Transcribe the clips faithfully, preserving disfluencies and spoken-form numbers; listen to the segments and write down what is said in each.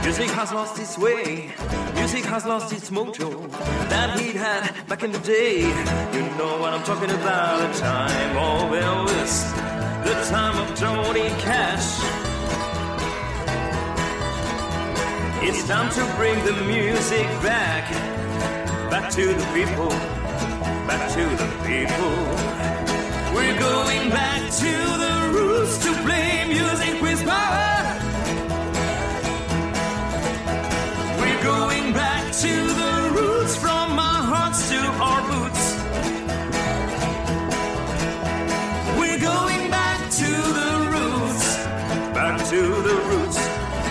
Music has lost its way, music has lost its mojo that he'd had back in the day. You know what I'm talking about, the time of Elvis, the time of Johnny Cash. It's time to bring the music back, back to the people, back to the people. We're going back to the roots to play music with power. We're going back to the roots, from our hearts to our boots. We're going back to the roots, back to the roots.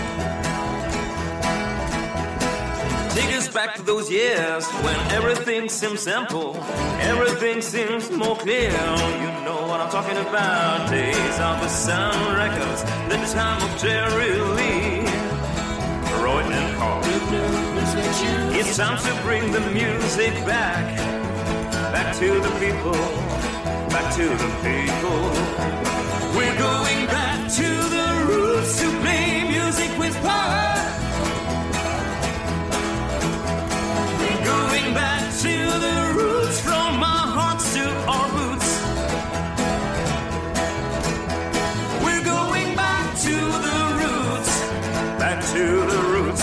Take us back to those years when everything seems simple, everything seems more clear. You know what I'm talking about, days of the Sun Records, the time of Jerry Lee, Roy and Carl. It's time to bring the music back, back to the people, back to the people. We're going back to the roots to play music with power. We're going back to the roots, from our hearts to our boots. We're going back to the roots, back to the roots.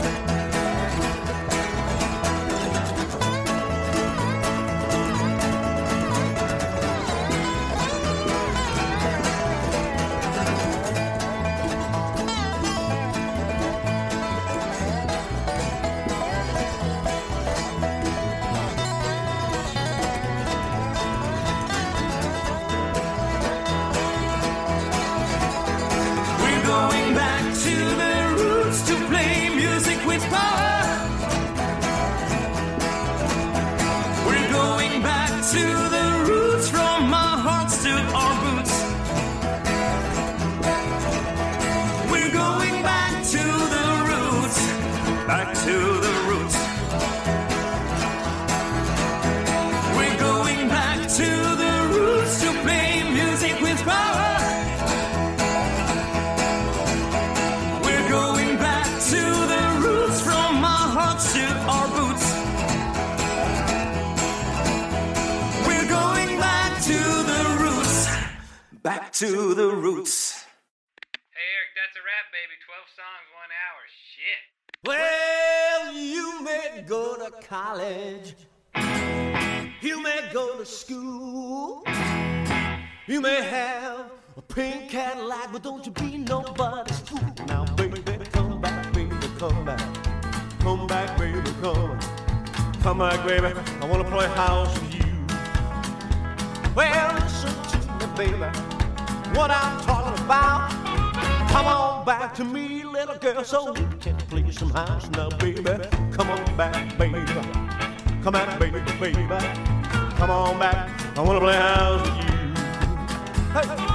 To the roots. Hey Eric, that's a wrap, baby. twelve songs, one hour. Shit. Well, you may go to college, you may go to school, you may have a pink Cadillac, but don't you be nobody's fool. Now, baby, come back, baby, come back. Come back, baby, come. Come back, baby. I want to play house with you. Well, listen to me, baby, what I'm talking about. Come on back to me, little girl, so we can play some house now, baby. Come on back, baby. Come back, baby, baby. Come on back. I wanna play house with you. Hey.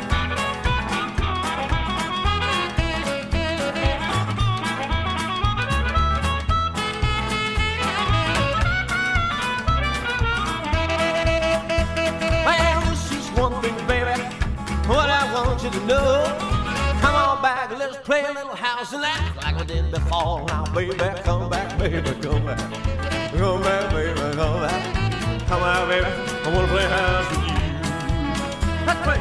What I want you to know, come on back, let's play a little house and act like we did before. Now, baby, come back, baby, come back. Come back, baby, come back. Come on, baby, I want to play house with you. Let's play.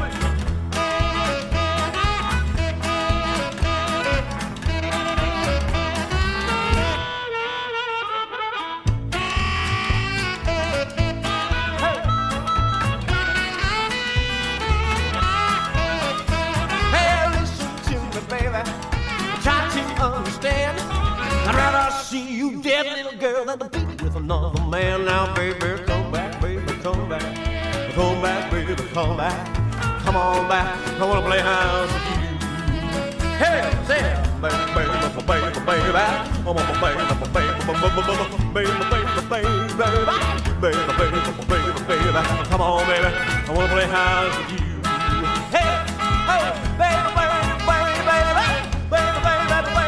I'd rather see you dead, little girl, than to be with another man. Now, baby, come back, baby, come back. Come back, baby, come back. Come on back, I wanna play house with you. Hey, say it. Baby, baby, baby, baby, oh, baby, baby, baby, baby, baby, baby, baby, baby, come on, baby, I wanna play house with you. Hey, hey, baby, baby, baby, baby, baby, baby, baby, baby.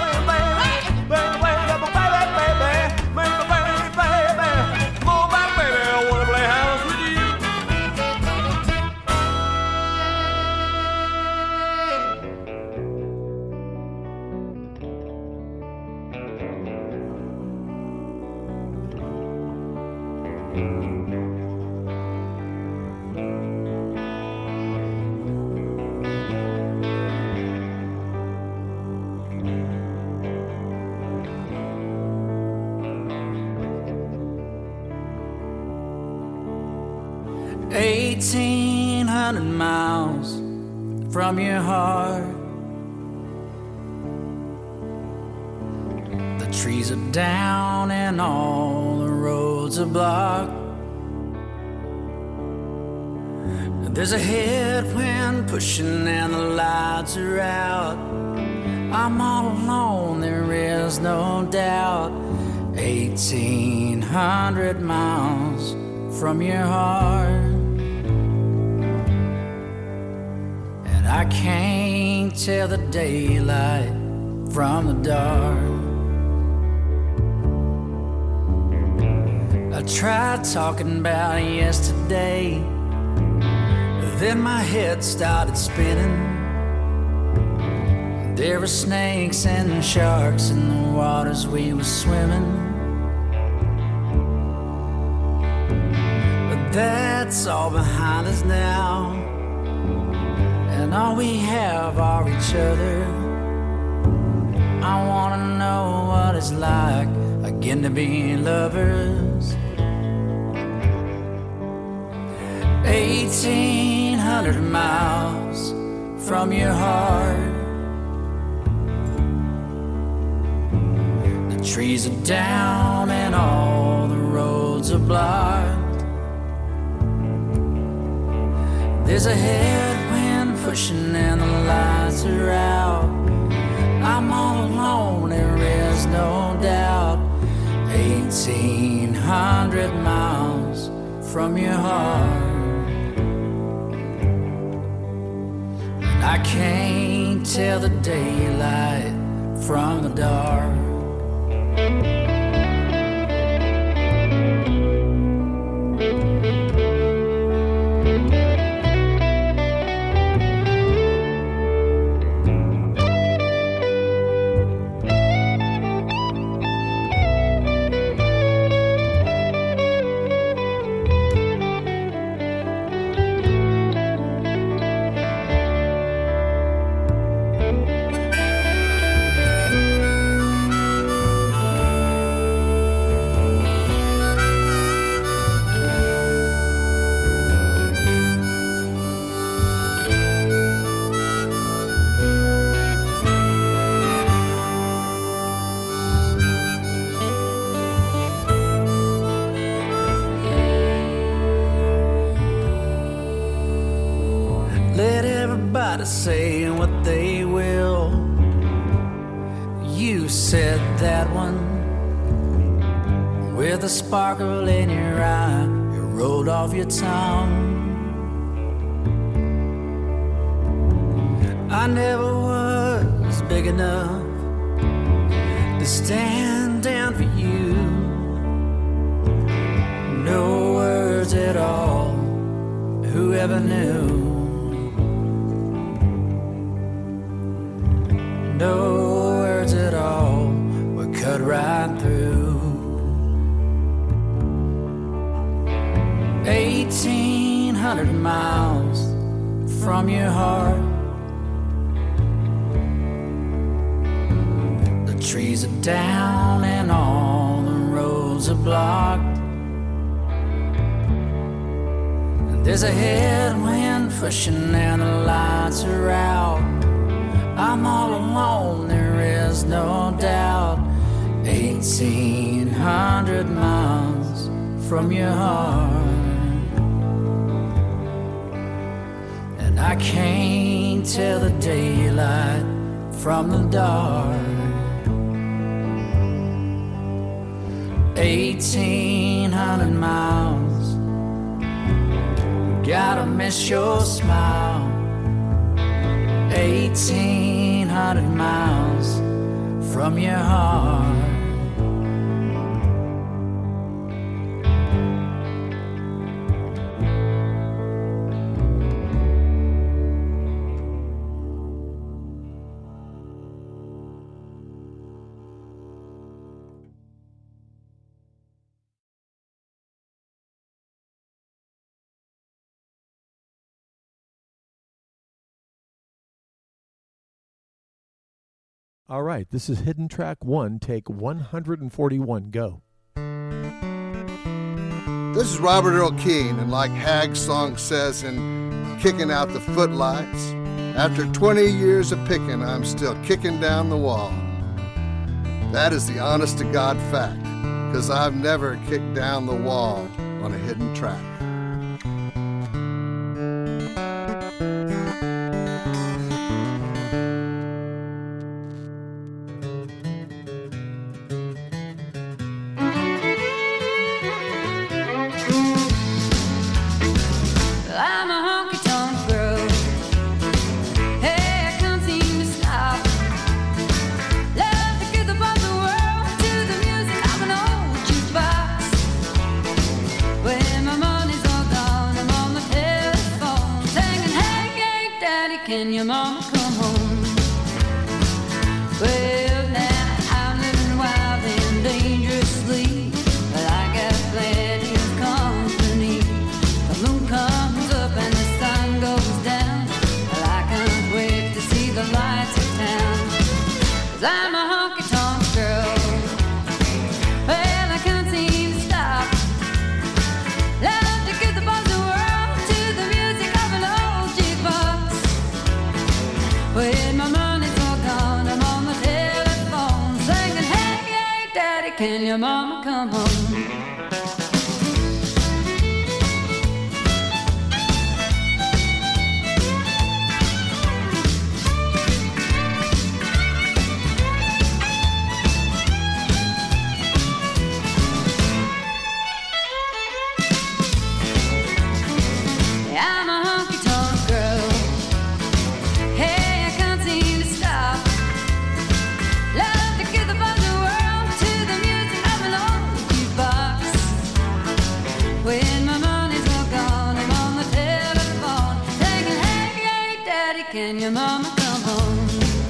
Eighteen hundred miles from your heart. The trees are down and all the roads are blocked. There's a headwind pushing and the lights are out. I'm all alone, there is no doubt. Eighteen hundred miles from your heart. And I can't tell the daylight from the dark. I tried talking about yesterday, then my head started spinning. There were snakes and sharks in the waters we were swimming. But that's all behind us now, and all we have are each other. I wanna know what it's like again to be lovers. Eighteen hundred miles from your heart. The trees are down and all the roads are blocked. There's a headwind pushing and the lights are out. I'm all alone, there is no doubt. Eighteen hundred miles from your heart. I can't tell the daylight from the dark. Say what they will. You said that one with a sparkle in your eye. It rolled off your tongue. I never was big enough to stand down for you. No words at all. Whoever knew? No words at all were cut right through. Eighteen hundred miles from your heart. The trees are down and all the roads are blocked. And there's a headwind pushing and the lights are out. I'm all alone, there is no doubt. Eighteen hundred miles from your heart. And I can't tell the daylight from the dark. Eighteen hundred miles. Gotta miss your smile. Eighteen hundred miles from your heart. All right, this is Hidden Track one, take one hundred forty-one, go. This is Robert Earl Keen, and like Hag's song says in Kicking Out the Footlights, after twenty years of picking, I'm still kicking down the wall. That is the honest-to-God fact, because I've never kicked down the wall on a hidden track. Can your mama come home? Well, now I'm living wild and dangerously, but I got plenty of company. The moon comes up and the sun goes down, but I can't wait to see the lights of town. 'Cause I'm a honky-tonk girl. Well, I can't seem to stop. Love to give the buzz the world to the music of an old jukebox. When my money's all gone, I'm on the telephone singing, hey, hey, daddy, can your mama come home? I'm a honky-tonk girl. Hey, I can't seem to stop. Love to give the buzz the world to the music of an old jukebox. When my money's all gone, I'm on the telephone singing, hey, hey, daddy, can your mama come home?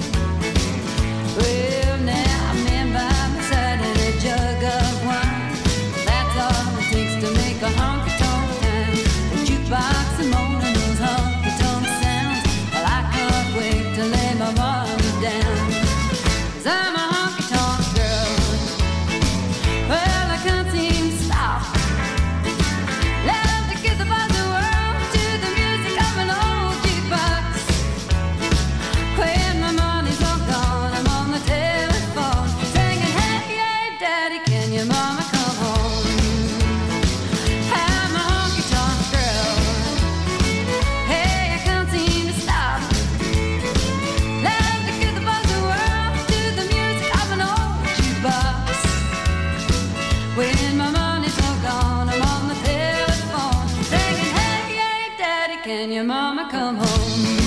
Well, now I'm in by my side and a jug of wine. That's all it takes to make a honky-tonk town. The jukebox and moaning those honky-tonk sounds. Well, I can't wait to lay my mama down. 'Cause I'm a honky-tonk girl. Well, I can't seem to stop. Love to give the buzz the world to the music of an old jukebox. When my money's all gone, I'm on the telephone singing, hey, hey, daddy, can your mama come home? I'm a honky-tonk girl. Hey, I can't seem to stop. Love to give the buzz the world to the music of an old jukebox. When my money's all gone, I'm on the telephone singing, hey, hey, daddy, can your mama come home?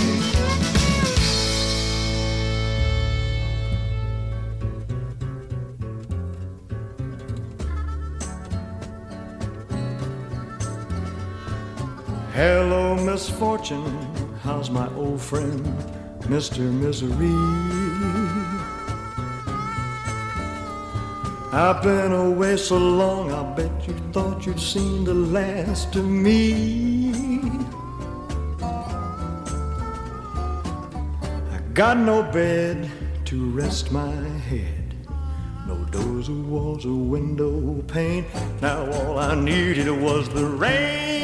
Hello, misfortune. How's my old friend, Mister Misery? I've been away so long, I bet you thought you'd seen the last of me. I got no bed to rest my head, no doors or walls or window pane. Now all I needed was the rain.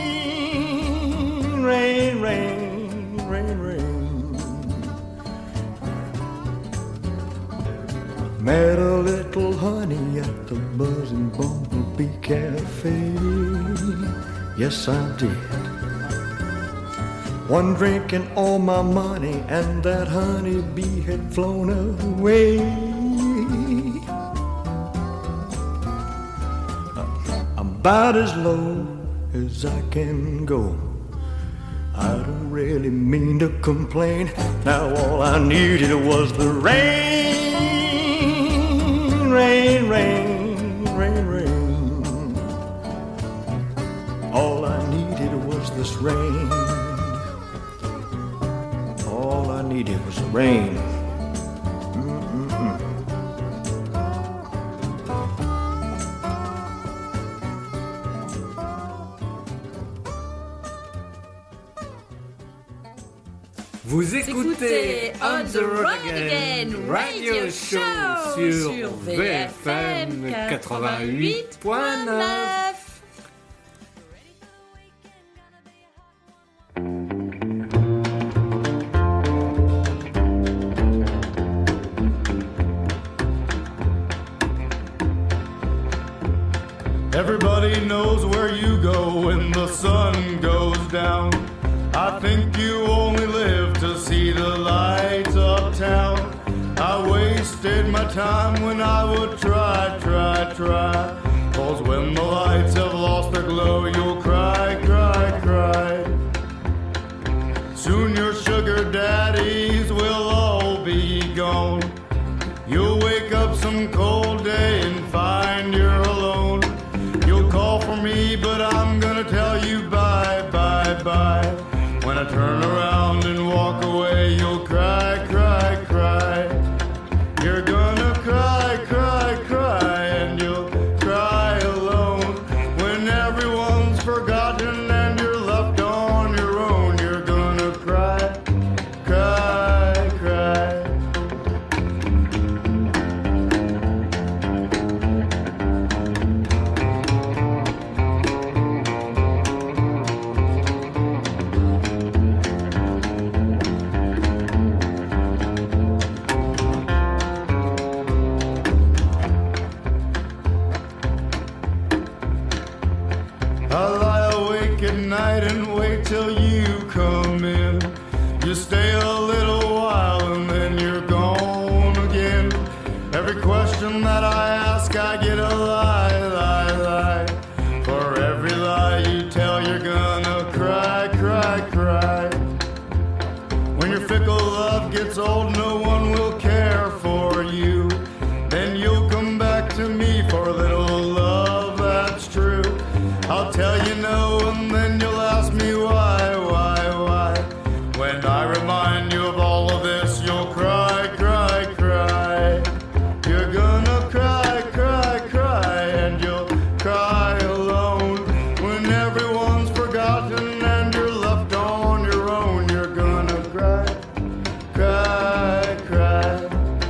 Rain, rain, rain, rain. Met a little honey at the Buzzing Bumblebee Cafe. Yes, I did. One drink and all my money, and that honeybee had flown away. I'm about as low as I can go. I don't really mean to complain. Now all I needed was the rain, rain, rain, rain, rain. All I needed was this rain. All I needed was the rain. Mm-mm-mm. Vous écoutez On the Road Again Radio Show sur V F M quatre-vingt-huit point neuf. Everybody knows where you go when the sun goes down. I think you only live to see the lights uptown. I wasted my time when I would try, try, try. Cause when the lights have lost their glow, you'll cry, cry, cry. Soon your sugar daddies will all be gone. You'll wake up some cold day and find you're alone. You'll call for me, but I'm gonna tell you bye, bye, bye. When I turn around and walk away, you'll cry, cry, cry. You're gonna cry, cry, cry, and you'll cry alone. When everyone's forgotten and you're left on your own, you're gonna cry, cry, cry. And wait till you come in. You stay a little while and then you're gone again. Every question that I ask, I get a lie, lie, lie. For every lie you tell, you're gonna cry, cry, cry. When your fickle love gets old, no one will care for you. Then you'll come back to me for a little love that's true. I'll tell you no, and then you'll ask me why, why, why. When I remind you of all of this, you'll cry, cry, cry. You're gonna cry, cry, cry, and you'll cry alone. When everyone's forgotten and you're left on your own, you're gonna cry, cry, cry.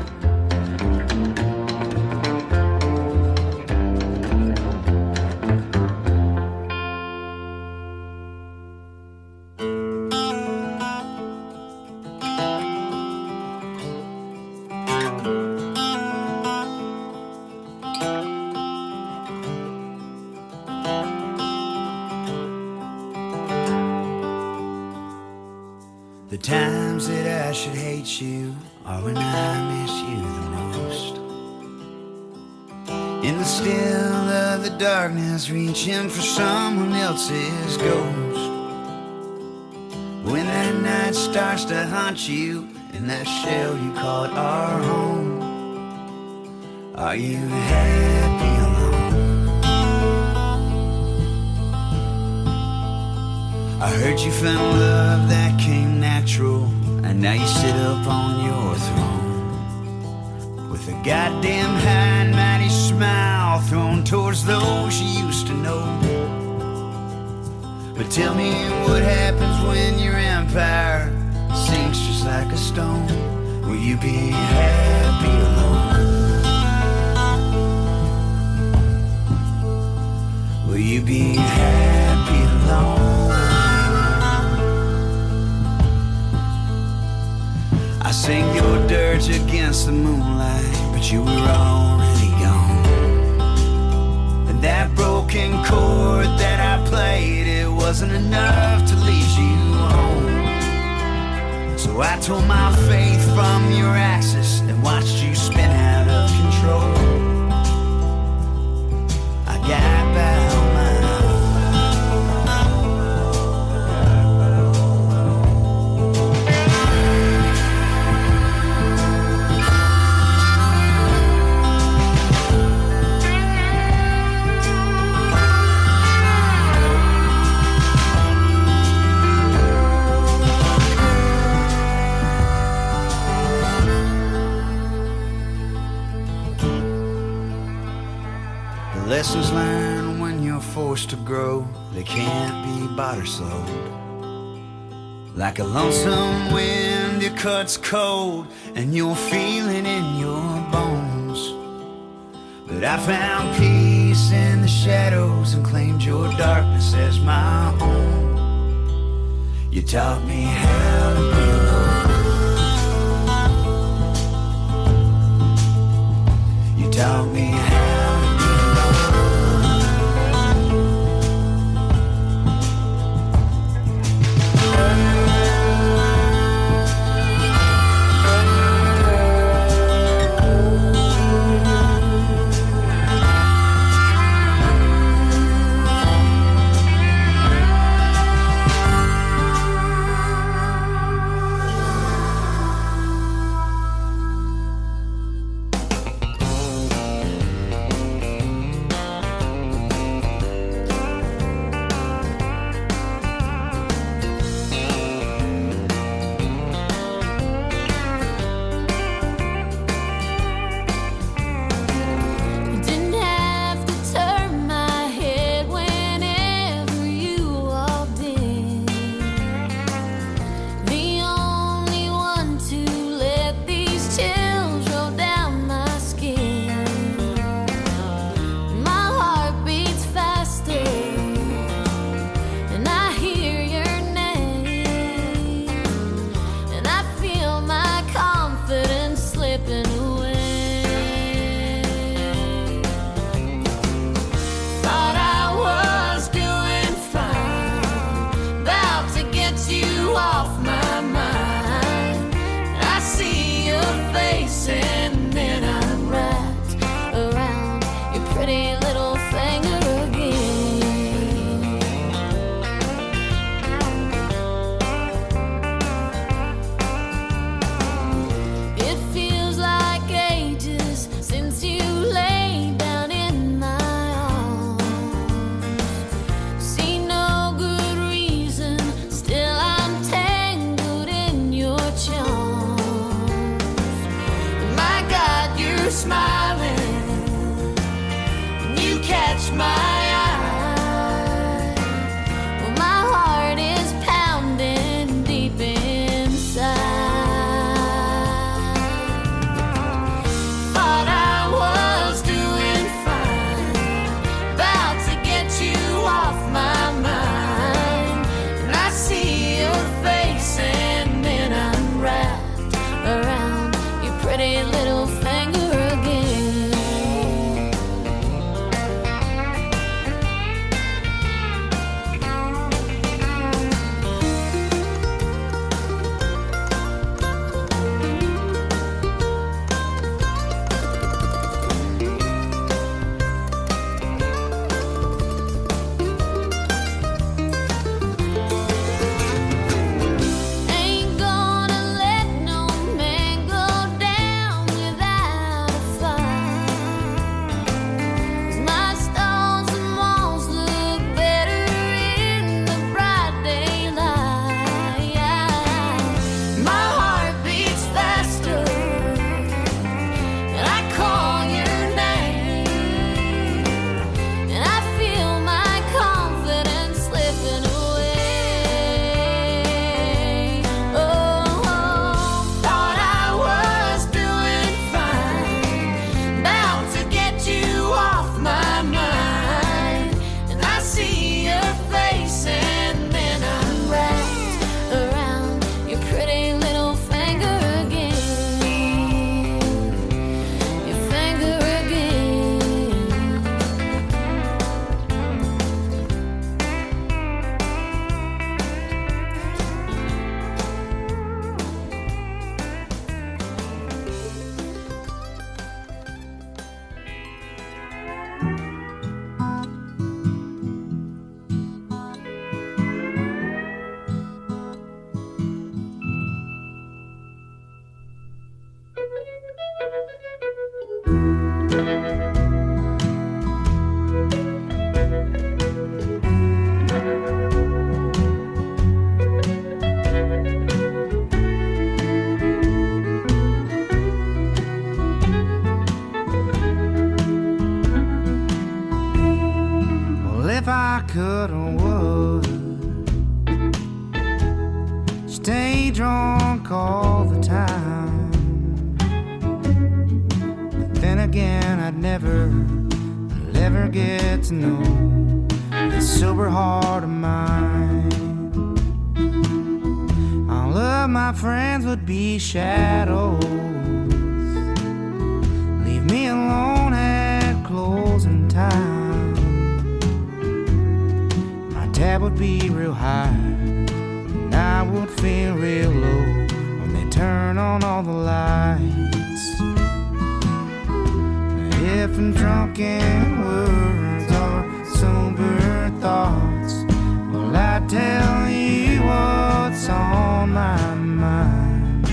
The times that I should hate you are when I miss you the most. In the still of the darkness, reaching for someone else's ghost. When that night starts to haunt you in that shell you call it our home, are you happy alone? I heard you found love that came natural, and now you sit up on your throne with a goddamn high and mighty smile thrown towards those you used to know. But tell me what happens when your empire sinks just like a stone. Will you be happy alone? Will you be happy alone? I sang your dirge against the moonlight, but you were already gone. And that broken chord that I played, it wasn't enough to lead you home. So I tore my faith from your axis and watched you spin out of control. I got by on my lessons learned when you're forced to grow, they can't be bought or sold. Like a lonesome wind, it cuts cold, and you're feeling in your bones. But I found peace in the shadows and claimed your darkness as my own. You taught me how to be alone. You taught me how to if I could or would drunk all the time. But then again, I'd never, I'd ever get to know this sober heart of mine. All of my friends would be shadows. Leave me alone at closing time. My tab would be real high, and I would feel real low when they turn on all the lights. If in drunken words or sober thoughts, well, I tell you what's on my mind.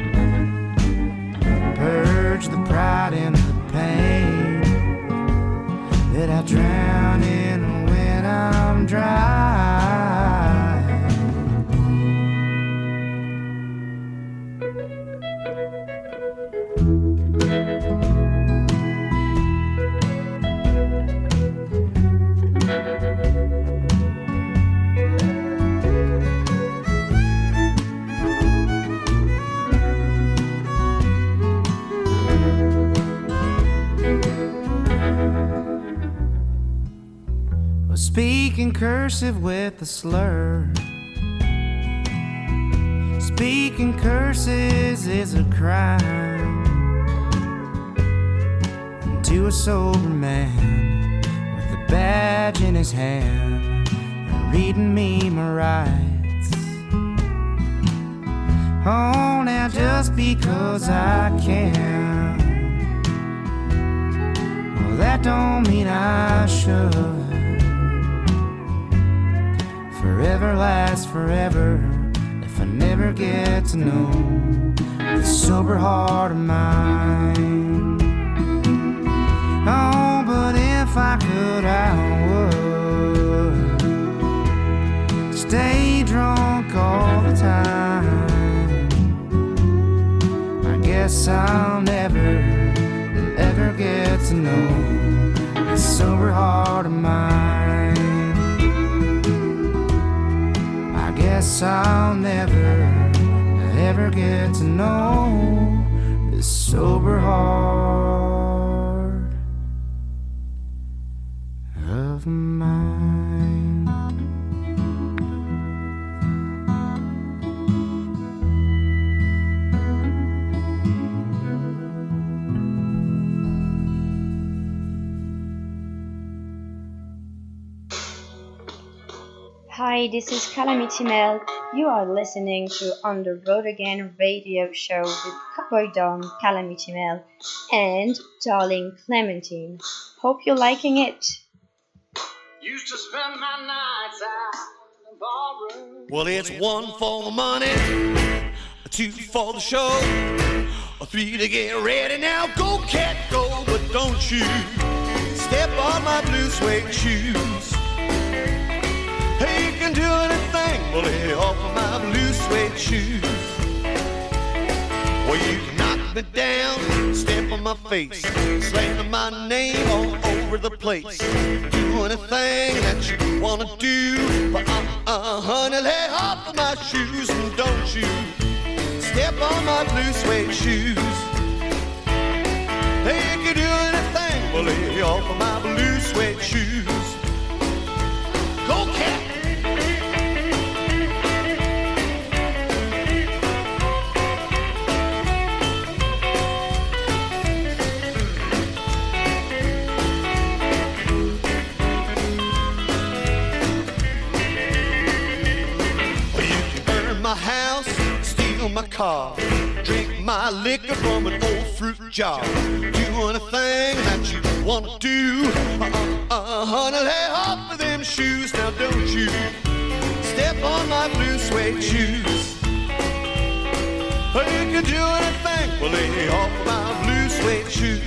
Purge the pride and the pain that I drown in when I'm dry. Speaking cursive with a slur. Speaking curses is a crime. And to a sober man with a badge in his hand and reading me my rights. Oh, now just because I can, well, that don't mean I should. Forever lasts forever if I never get to know this sober heart of mine. Oh, but if I could, I would stay drunk all the time. I guess I'll never, ever get to know this sober heart of mine. I guess I'll never, ever get to know this sober heart of mine. Hi, this is Calamity Mel. You are listening to On the Road Again radio show with Cowboy Don, Calamity Mel, and Darling Clementine. Hope you're liking it. Used to spend my nights out in the barroom. Well, it's one for the money, two for the show, three to get ready. Now go, cat, go, but don't you step on my blue suede shoes. Hey, you can do anything, well, lay off of my blue suede shoes. Well, you can knock me down, step on my face, slam my name all over the place. Do anything that you wanna do, but uh-uh, honey, lay off of my shoes and don't you step on my blue suede shoes. Hey, you can do anything, well, lay off of my blue suede shoes. Go, cat! My house, steal my car, drink my liquor from an old fruit jar. Do anything that you wanna do, uh, uh, honey, lay off of them shoes. Now don't you step on my blue suede shoes. Oh, you can do anything, well, lay off of my blue suede shoes.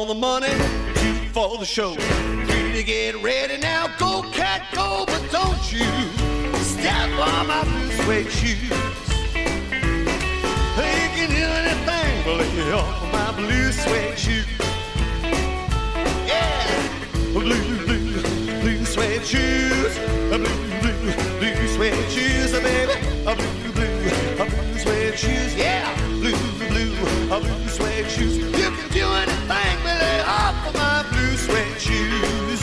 all the money, two for the show. Three to get ready now, go cat go, but don't you step on my blue suede shoes. You can do anything but lay off my blue suede shoes. Yeah, blue, blue, blue suede shoes, blue, blue, blue suede shoes, baby, blue, blue, blue suede shoes, yeah, blue, blue, blue suede shoes. You can do anything but lay off my blue suede shoes.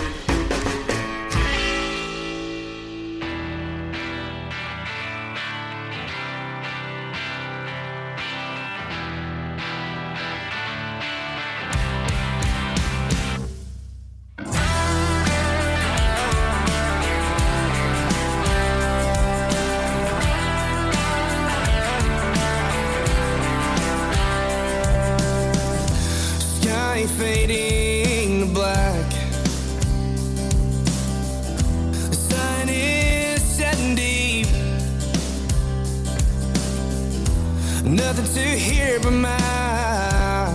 Fading to black. The sun is setting deep. Nothing to hear but my,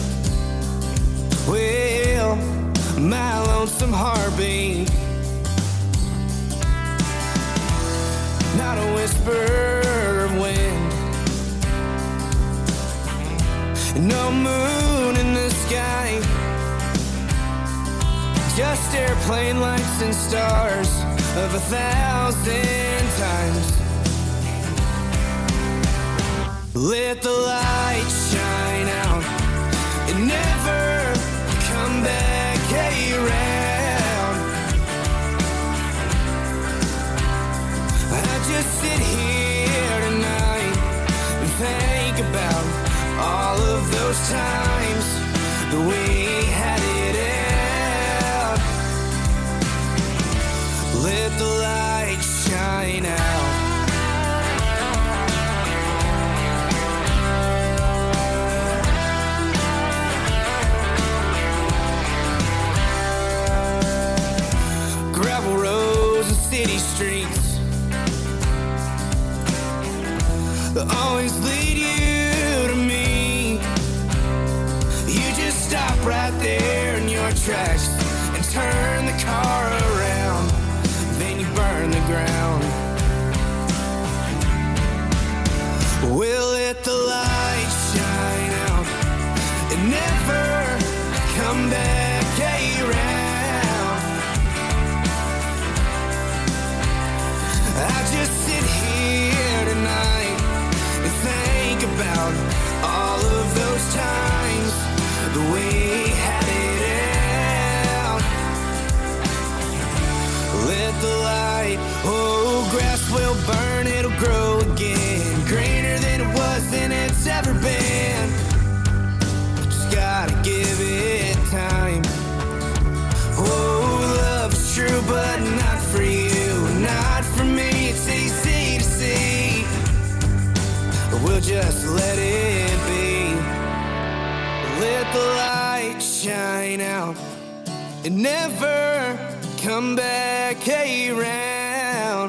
well, my lonesome heartbeat. Not a whisper of wind. No moon in the sky, just airplane lights and stars of a thousand times. Let the light shine out and never come back around. I just sit here tonight and think about all of those times that we had it out. Let the light shine out. Gravel roads and city streets that always lead you to me. You just stop right there in your tracks and turn the car around. Then you burn the ground. We'll let the light shine out and never come back around. I just sit here tonight and think about all of those times that we had it out. Let the light, oh, grass will burn, it'll grow again, greener than it was than it's ever been. Just gotta give it time. Oh, love is true, but not for you, not for me. It's easy to see. We'll just let it be. Let the light shine out and never come back around.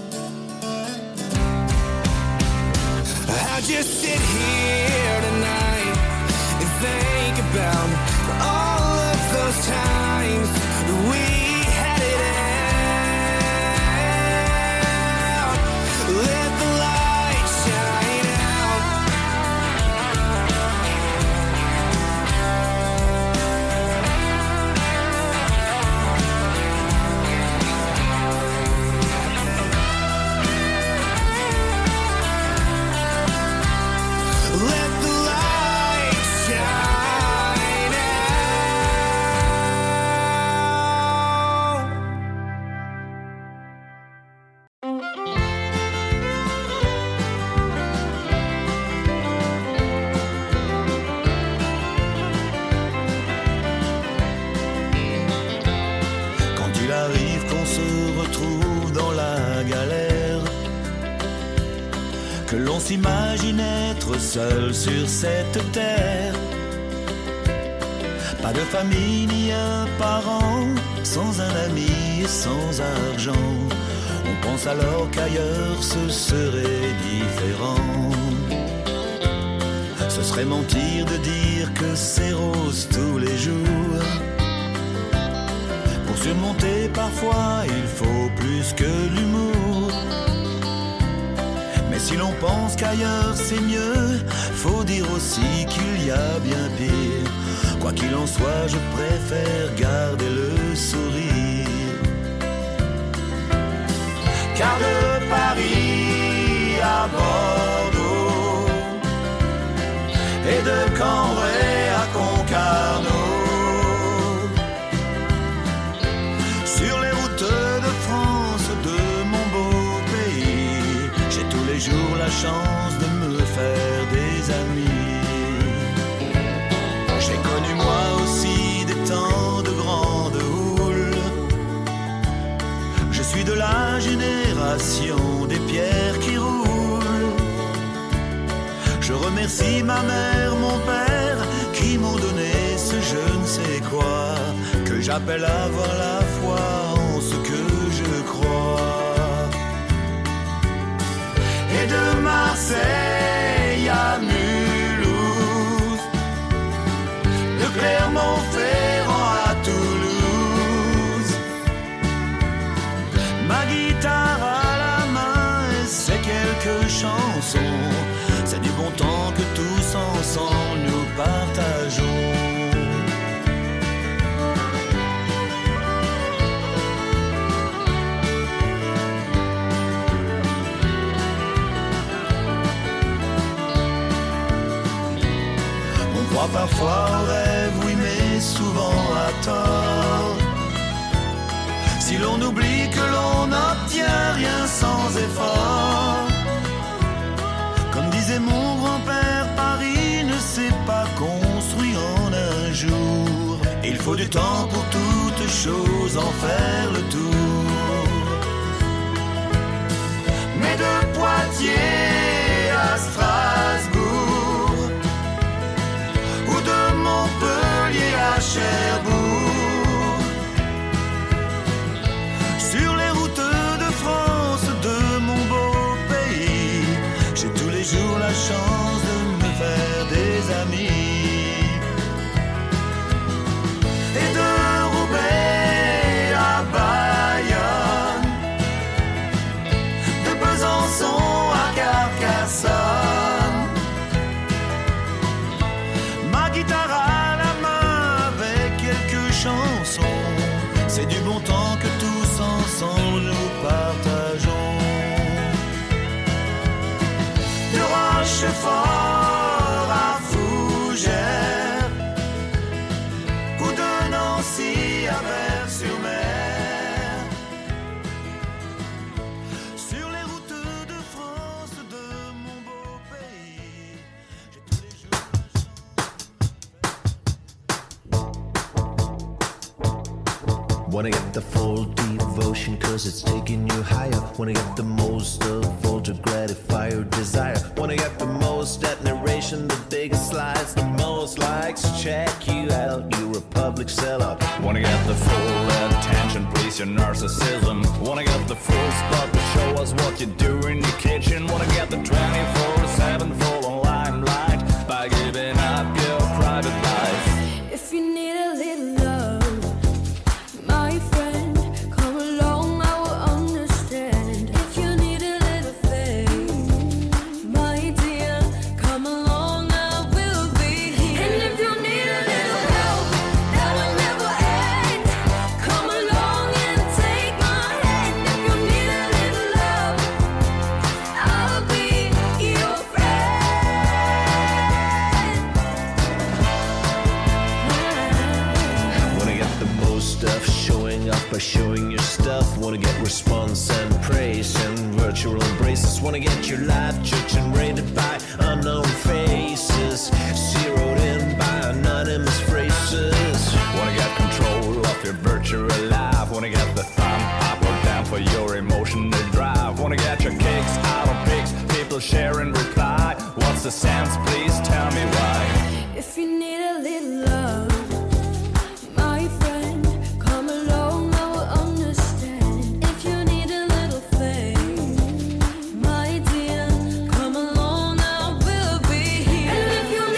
I just sit here tonight and think about all of those times that we had it out. Let the light shine out. Let the light shine out. Quand il arrive qu'on se retrouve dans la galère, que l'on s'imagine être seul sur cette terre, pas de famille ni un parent, sans un ami et sans argent, on pense alors qu'ailleurs ce serait différent. Ce serait mentir de dire que c'est rose tous les jours. Pour surmonter parfois il faut plus que l'humour. Mais si l'on pense qu'ailleurs c'est mieux, faut dire aussi qu'il y a bien pire. Quoi qu'il en soit, je préfère garder le sourire. Car de Paris à Bordeaux et de Cambrai à Concarneau, sur les routes de France, de mon beau pays, j'ai tous les jours la chance de me faire des amis. J'ai connu moi aussi des temps de grande houle. Je suis de la génération des pierres qui roulent. Je remercie ma mère, mon père, qui m'ont donné ce je ne sais quoi, que j'appelle avoir la foi en ce que je crois. Et de Marseille à Mulhouse, de Clermont-Ferrand à Toulouse, ma guitare à la main et c'est quelques chansons. C'est du bon temps que tous ensemble nous partageons. On croit parfois au rêve, oui, mais souvent à tort. Si l'on oublie que l'on n'obtient rien sans effort. Comme disait mon grand-père, Paris ne s'est pas construit en un jour. Il faut du temps pour toute chose, en faire le tour. Mais de Poitiers à Strasbourg, ou de Montpellier à Cherbourg, sur les routes de France, de mon beau pays, j'ai tous les jours la chance de me faire des amis. Et de Roubaix à Bayonne, de Besançon à Carcassonne, ma guitare à la main avec quelques chansons. C'est du bon temps que tous ensemble nous partageons. De Rochefort à Fougères, ou de Nancy à Vers-sur-Mer, sur les routes de France, de mon beau pays, j'ai tous les jours la chance. Wanna get the full devotion cause it's taking you higher. Wanna get the most of all to gratify your desire. Wanna get the most admiration, the biggest slides, the most likes. Check you out, you're a public sellout. Wanna get the full attention, please your narcissism. Wanna get the full spot to show us what you do in your kitchen. Wanna get the twenty-four seven full on limelight by giving up your private life. If you need a little love, my friend, come along, I will understand. If you need a little faith, my dear, come along, I will be here. And if you need a little help, that will never end. Come along and take my hand. If you need a little love, I'll be your friend. Wanna get the most of showing up by showing your stuff. Wanna get response and praise and virtual embraces. Wanna get your life judged and rated by unknown faces, zeroed in by anonymous phrases. Wanna get control of your virtual life. Wanna get the thumb up or down for your emotional drive. Wanna get your kicks out of pics, people share and reply. What's the sense, please tell me why. If you need a little love, my friend, come along, I will understand. If you need a little faith, my dear, come along, I will be here. And if you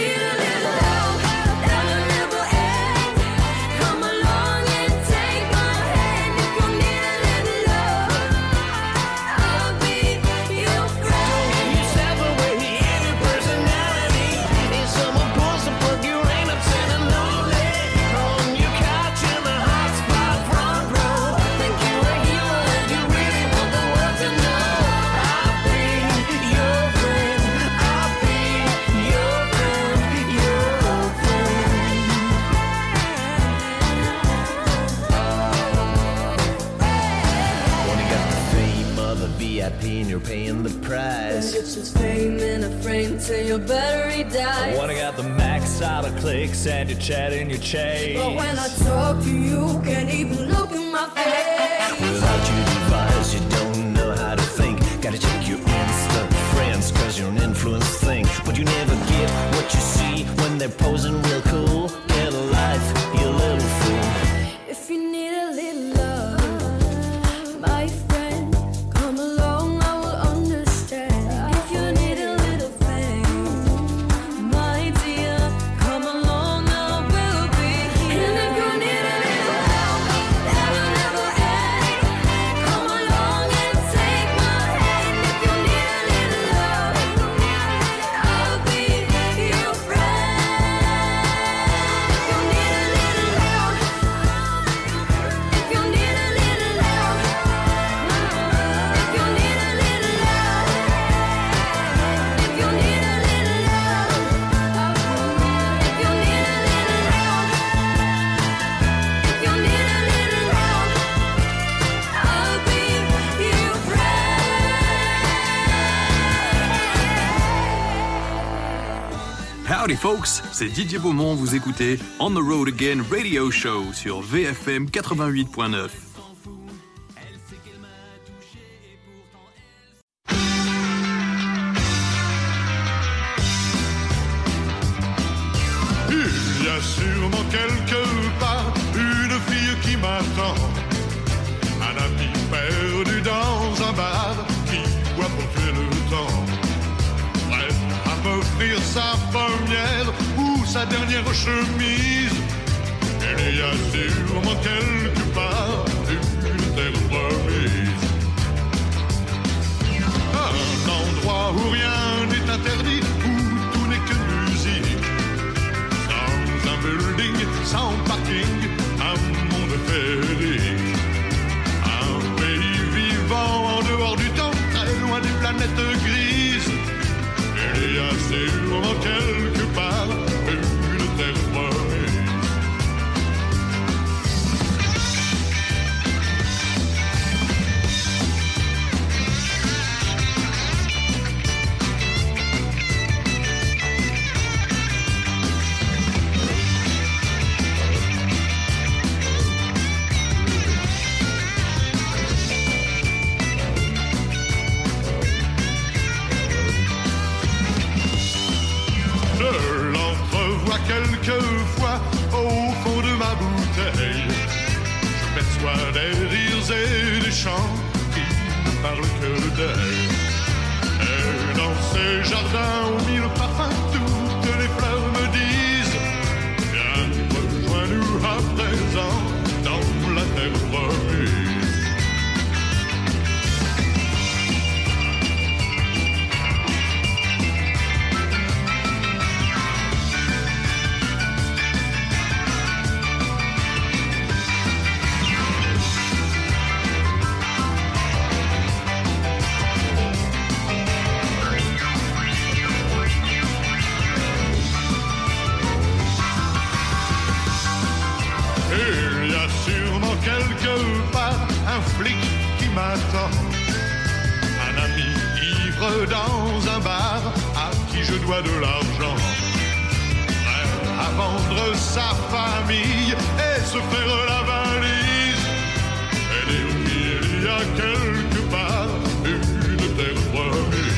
V I P and you're paying the price. It's just fame in a frame till your battery dies. When I got the max out of clicks and you're chatting your chase. But when I talk to you, can't even look in my face. Without your device, you don't know how to think. Gotta check your instant friends, cause you're an influence thing. But you never get what you see when they're posing real cool. Get a life, you little fool. If you need a little love, my friend, come along, I will understand. If you need a little fame, my dear, come along, I will be here. And if you need a little help, that will never end. Come along and take my hand. If you need a little love, I'll be your friend. If you need a little help, if you need a little love, if you need a little love, if you need a little love, if you need a little help, if you need a little love, I'll be your friend. Howdy folks, c'est Didier Beaumont, vous écoutez On the Road Again Radio Show sur V F M quatre-vingt-huit point neuf. Il y a sûrement quelque part une fille qui m'attend. Un ami perdu dans un bar qui boit pour tuer le temps. Prêt à m'offrir sa première ou sa dernière chemise. Il y a sûrement quelque part une terre promise. Un endroit où rien n'est interdit, où tout n'est que musique. Sans un building, sans parking, un monde féerique. Un pays vivant en dehors du temps, très loin des planètes grises. Il y a sûrement quelque part une terre promise. Je l'entrevois quelquefois au fond de ma bouteille. Je perçois des rires et des chants qui ne parlent que d'elle. Et dans ces jardins aux mille parfums, toutes les fleurs me disent: viens, rejoins-nous à présent dans la terre promise. Il y a sûrement quelque part un flic qui m'attend. Un ami ivre dans un bar à qui je dois de l'argent. Prêt à vendre sa famille et se faire la valise. Et dire qu'il y a quelque part une terre promise.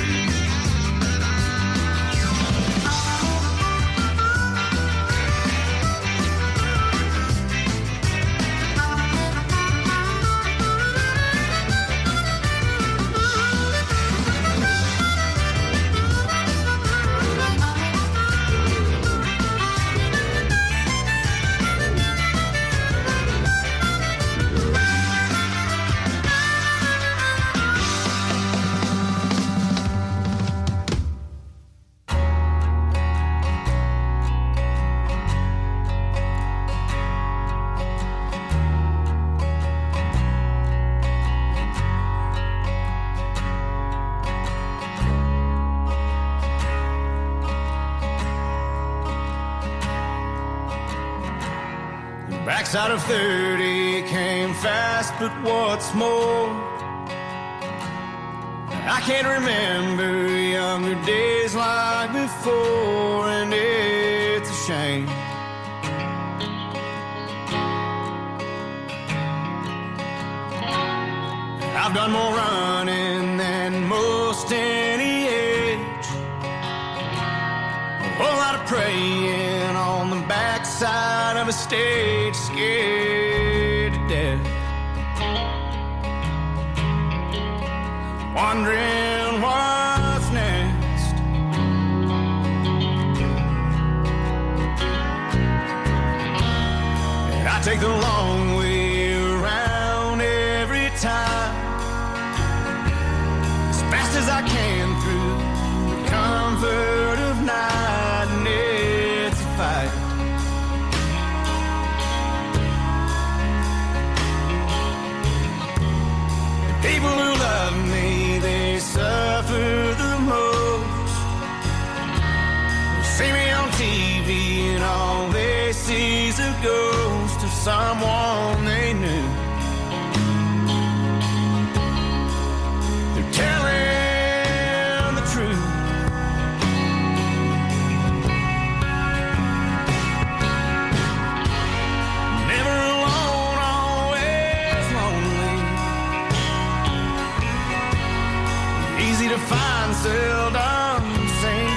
Backside of thirty came fast, but what's more, I can't remember younger days like before, and it's a shame. I've done more running than most any age. A whole lot of praying on the backside of a stage, scared to death. Wondering what's next. I take the long way around every time, as fast as I can through the comfort of night, and it's a fight. The people who love me, they suffer the most. They see me on T V and all they see is a ghost of someone they knew. They're telling the truth. Never alone, always lonely. Easy to find, seldom seen.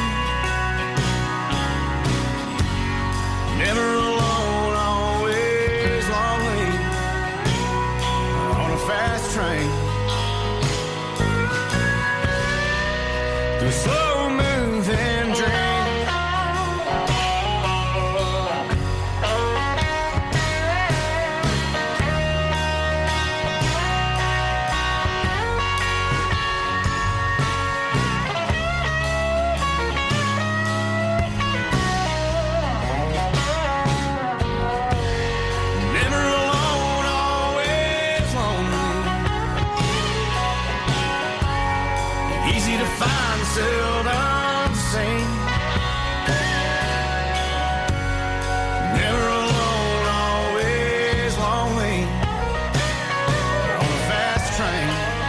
Never alone, always lonely. On a fast train, through a slow moving dream. Never alone, always lonely. Easy to find, seldom seen. Never alone, always lonely. On a fast train,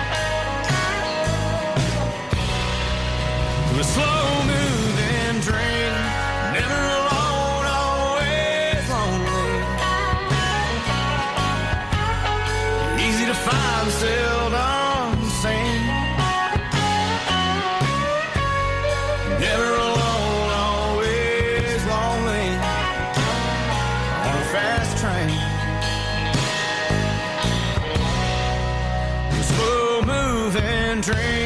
through a slow moving dream. Never alone, always lonely. Easy to find, seldom seen. Never alone, always lonely. On a fast train, a slow moving dream.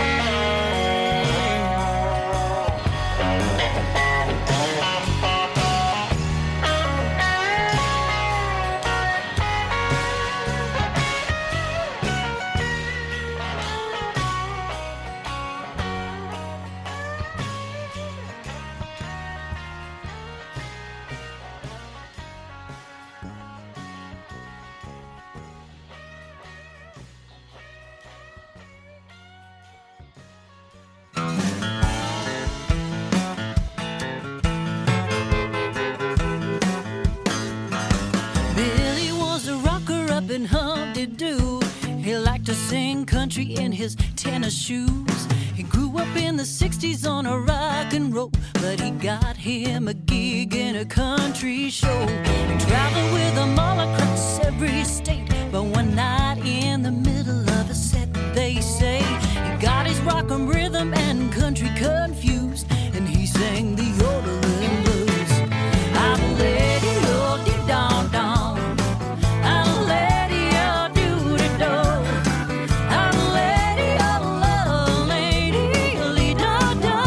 Billy was a rocker up in Humpty-Doo. He liked to sing country in his tennis shoes. He grew up in the sixties on a rock and roll, but he got him a gig in a country show. He traveled with them all across every state, but one night in the middle of a set, they say, he got his rock and rhythm and country confused, and he sang the yodeling blues. I'm lady, oh, dee down down. I'm lady, oh, do the do. I'm lady, oh, love lady, lee da da.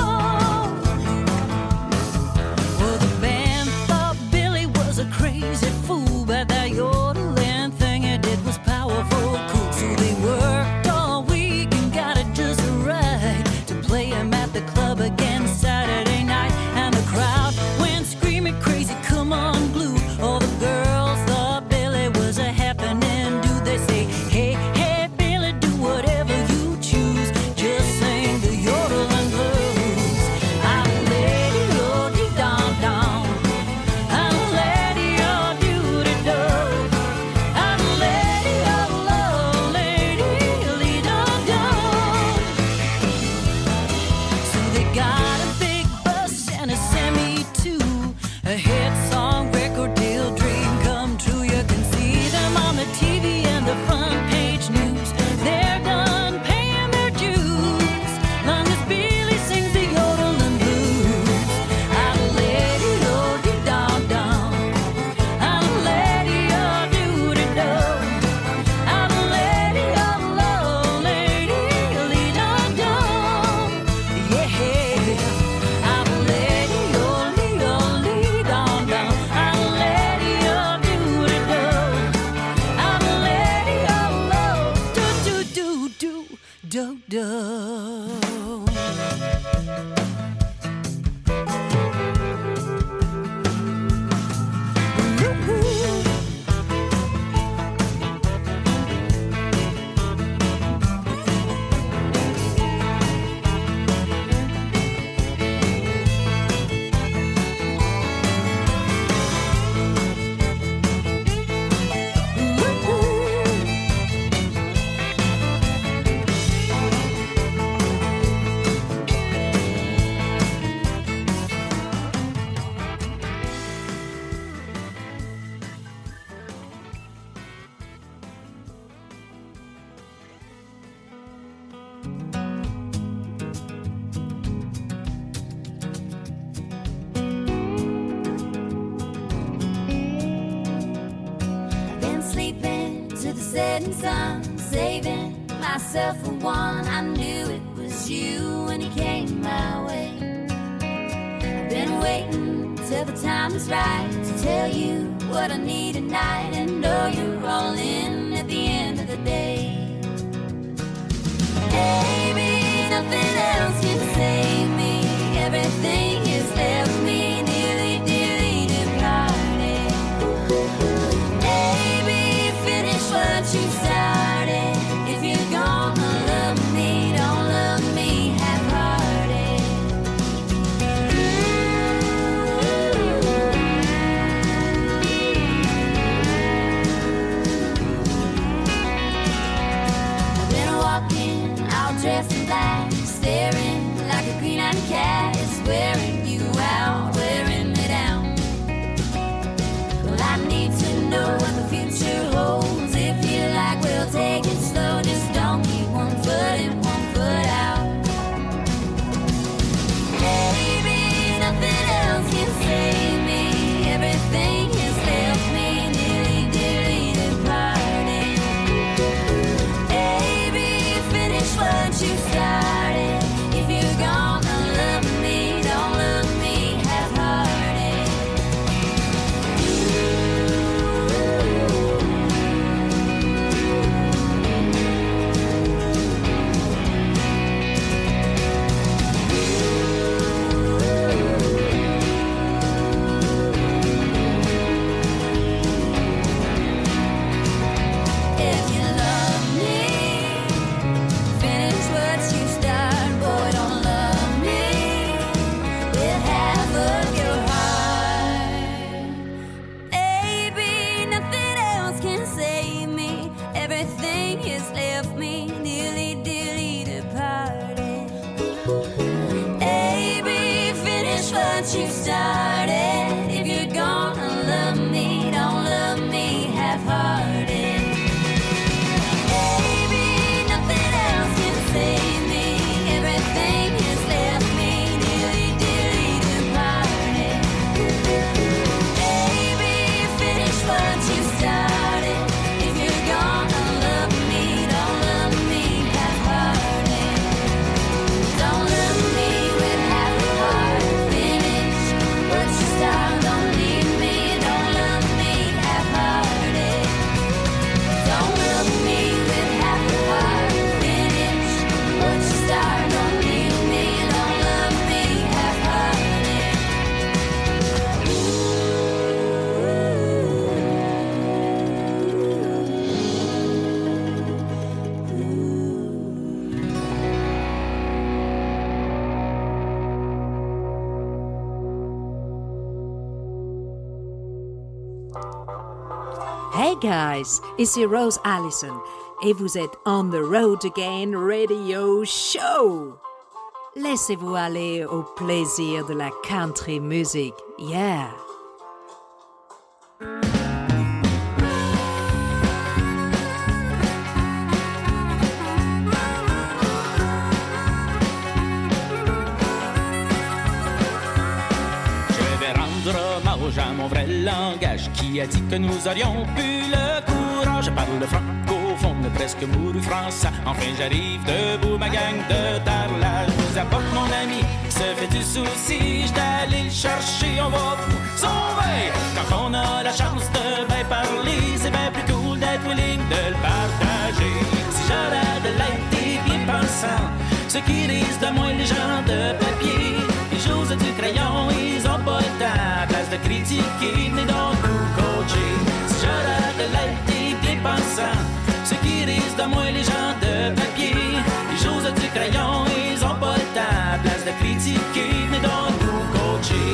Well, the band thought Billy was a crazy fool, but that yodeling thing he did was powerful cool. So they worked all week and got it just right to play him at the club again Saturday night, and the crowd down. Setting sun, saving myself for one. I knew it was you when you came my way. I've been waiting till the time is right to tell you what I need tonight, and know you're all in at the end of the day. Baby, nothing else can save me. Everything has left me nearly, nearly departed. Baby, finish what you started. If you're gonna love me, don't love me half-hearted. I've been walking all dressed in black, staring like a green-eyed cat. It's wearing you out, wearing me down. Well, I need to know what the future holds. If you like, we'll take it slow. Just don't keep one foot in, one foot out. Baby, nothing else can save me. Everything has left me nearly, nearly departed. Baby, finish what you started. If you're gonna love me, don't love me half-hearted. If you love me, finish what you start. Boy, don't love me with half of your heart. Baby, nothing else can save me. Everything has left me nearly, nearly departed. Baby, finish what you started. If you're gonna love me, don't love me half-hearted. Baby, nothing else can save me. Everything has left me nearly, nearly departed. Baby, finish what you started. If you're gonna love me, don't love me half-hearted. Don't love me with half a heart. Finish what you start. Don't leave me. Don't love me half-hearted. Don't love me with half a heart. Finish what you start. Don't leave me. Don't love me half-hearted. Hey guys, ici Rose Allison et vous êtes On the Road Again Radio Show. Laissez-vous aller au plaisir de la country music. Yeah. Je vais rendre hommage à mon vrai langage qui a dit que nous aurions pu le courage. Je parle francophone, presque mouru français. Enfin j'arrive debout, ma gang de tarlage. Je vous apporte mon ami qui se fait du souci. Je vais aller le chercher, on va vous sauver. Quand on a la chance de bien parler, c'est bien plus cool d'être willing de le partager. Si j'aurais de l'aide et bien pensant, Ceux qui risent de moins les gens de papier. Ils jouent du crayon, ils ont pas le temps. À place de critiquer, venez donc nous coacher. Si j'aurais de l'aide des bien pensants. Ceux qui risent de moins les gens de papier. Ils jouent du crayon, ils ont pas le temps. À place de critiquer, venez donc nous coacher.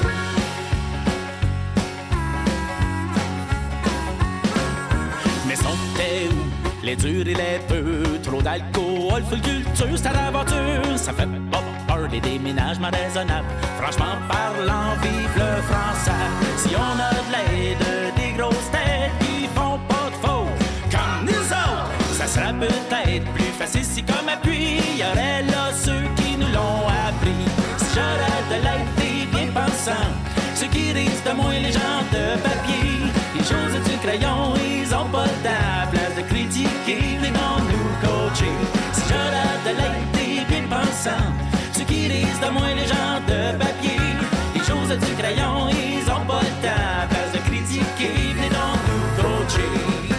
Mais sont-ils où les durs et les peu? Trop d'alcool, full culture, c'est à l'aventure. Ça fait pas peur, les déménagements raisonnables. Franchement parlant, vive le français. Si on a de l'aide, des grosses têtes qui font pas de faute, comme nous autres, ça sera peut-être plus facile si comme appui, y aurait là ceux qui nous l'ont appris. Si j'aurais de l'aide, des bien pensants, ceux qui risent de moins les gens de papier. Les choses du crayon, ils ont pas le temps. À place de critiquer, les non nous coacher. Si j'aurais de l'aide, des bien pensants, ceux qui risent de moins les gens de papier. Les choses du crayon, ils ont pas le temps. À place de critiquer, les non nous coacher.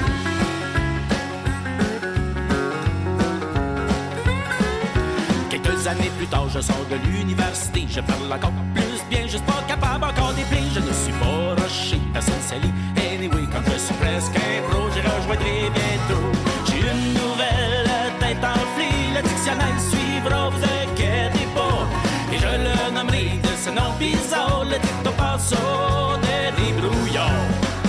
Quelques années plus tard, je sors de l'université. Je parle encore plus bien, juste pas capable encore des plis. Je ne suis pas rushé, personne sali. Anyway, quand je suis presque un pro, j'y rejoindrai bientôt. J'ai une nouvelle tête enflée, le dictionnaire suivra, vous inquiétez pas. Et je le nommerai de ce nom bizarre, le dicton passe au des brouillards.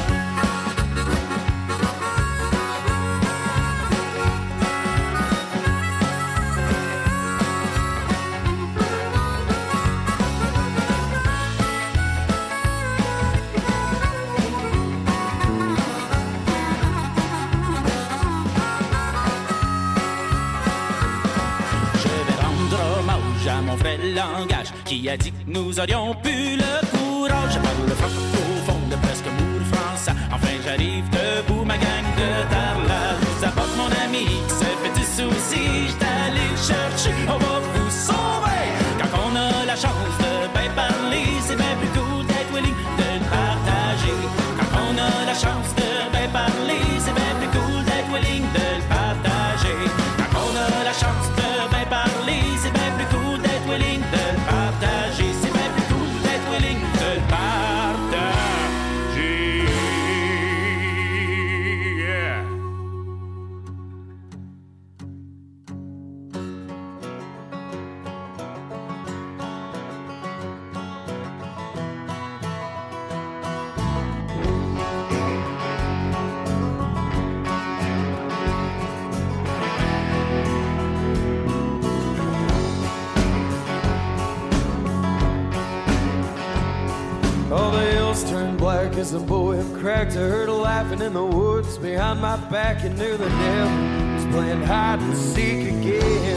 Langage qui a dit que nous aurions pu le courage. Je parle le francophone de presque mouru français. Enfin j'arrive debout, ma gang de tarla. Vous apporte mon ami qui se fait du souci. J'étais allé le chercher, on va vous sauver. Quand on a la chance de bien parler, c'est bien plus cool d'être willing de le partager. Quand on a la chance de bien parler, c'est bien plus cool d'être willing de le partager. Quand on a la chance de bien parler, c'est bien plus cool d'être willing de le partager. C'est bien plus cool d'être willing de le partager. Yeah. All the hills turned black as the boy cracked. I heard a laughing in the woods behind my back, and knew the devil was playing hide and seek again.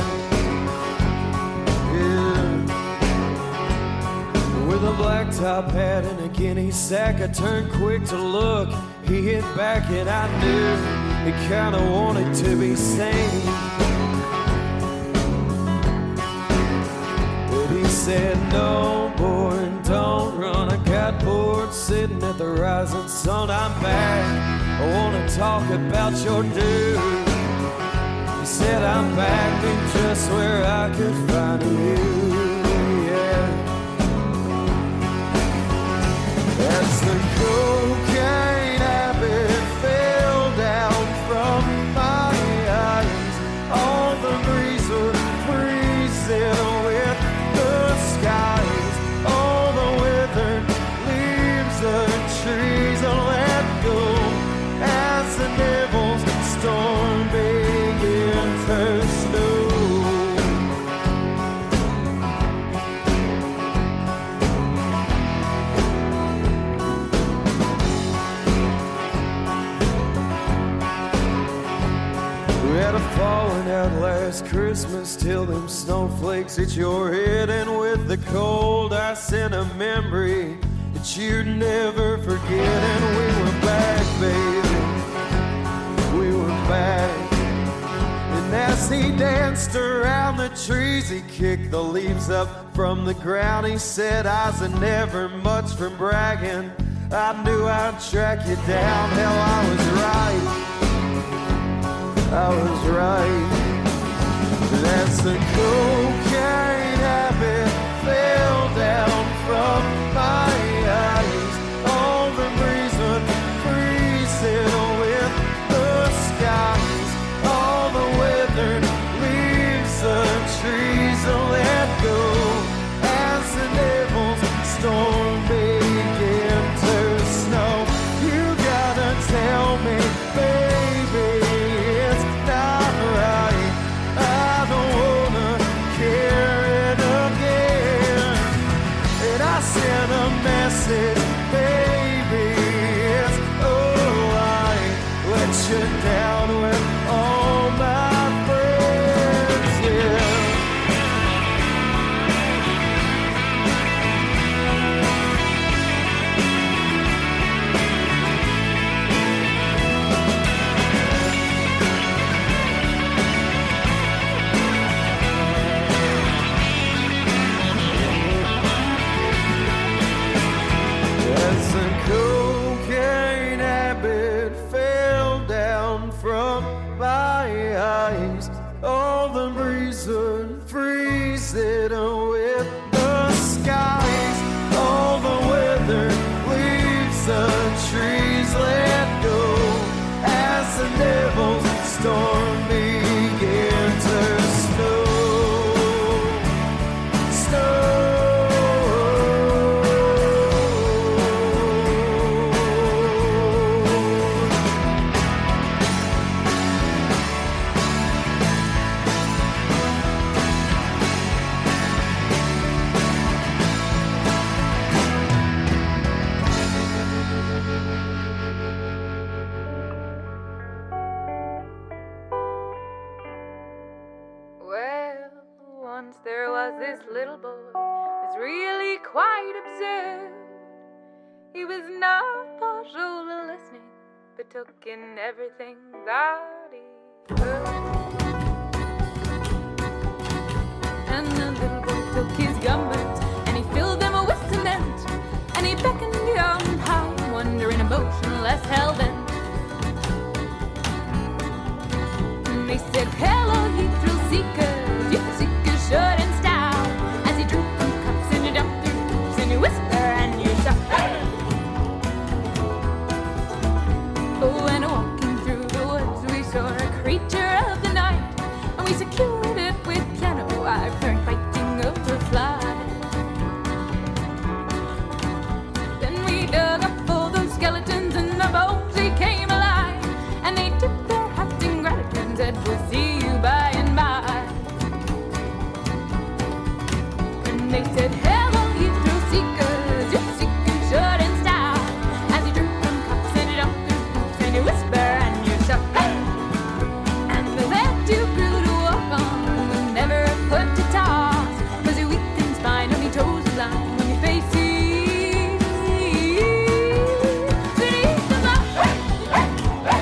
Yeah. With a black top hat and a guinea sack, I turned quick to look. He hit back and I knew he kinda wanted to be sane. But he said, no boy, don't run. I got bored sitting at the rising sun. I'm back, I wanna talk about your dude. He said I'm back in just where I could find you. Yeah. As the cocaine habit fell down from my eyes, all the breeze would freezing with the skies. All the withered leaves of trees are let go as the devil's storm begins to snow. We had a falling out last Christmas till them snowflakes hit your head, and with the cold I sent a memory that you'd never forget. And we were back, baby, we were back. And as he danced around the trees, he kicked the leaves up from the ground. He said, I was never much for bragging, I knew I'd track you down. Hell, I was right, I was right. That's the cocaine habit fell down from my eyes. All the reason freezing with the skies. All the weathered leaves, the trees are let go as the devil's storm began to snow. You gotta tell me, baby, it's not right. I don't wanna hear it again. And I sent a message, baby, it's alright. Let you down with all my friends, yeah. As the cocaine habit fell down from my eyes, all the reason freezing with the skies, all the weather leaves the trees let go as the devil's storm began to snow. Well, once there was this little boy, was really quite absurd. He was not partial to listening, but took in everything that he heard. And the little boy took his gumboots, and he filled them with cement, and he beckoned young high, wondering, emotionless, hell-bent. And they said, hello, you thrill seekers, you seekers should in style. As he drew from cups and you jumped through hoops and you whisper and you shout, hey! Oh, and walking through the woods we saw a creature of the night, and we secured it with piano wire for fighting over a fly. Then we dug up all those skeletons and the bones, they came alive, and they tipped their hats in gratitude and said, we'll see you by and by. And they said, hello, you thrill seekers, you seekers should in style. As you drew from cups and you jumped through hoops and you whisper and you shout, hey! And the left you grew to walk on, will never put to toss, 'cause your weak and spine on your toes are blind when you face it. Beneath the block, hey! Hey! Hey!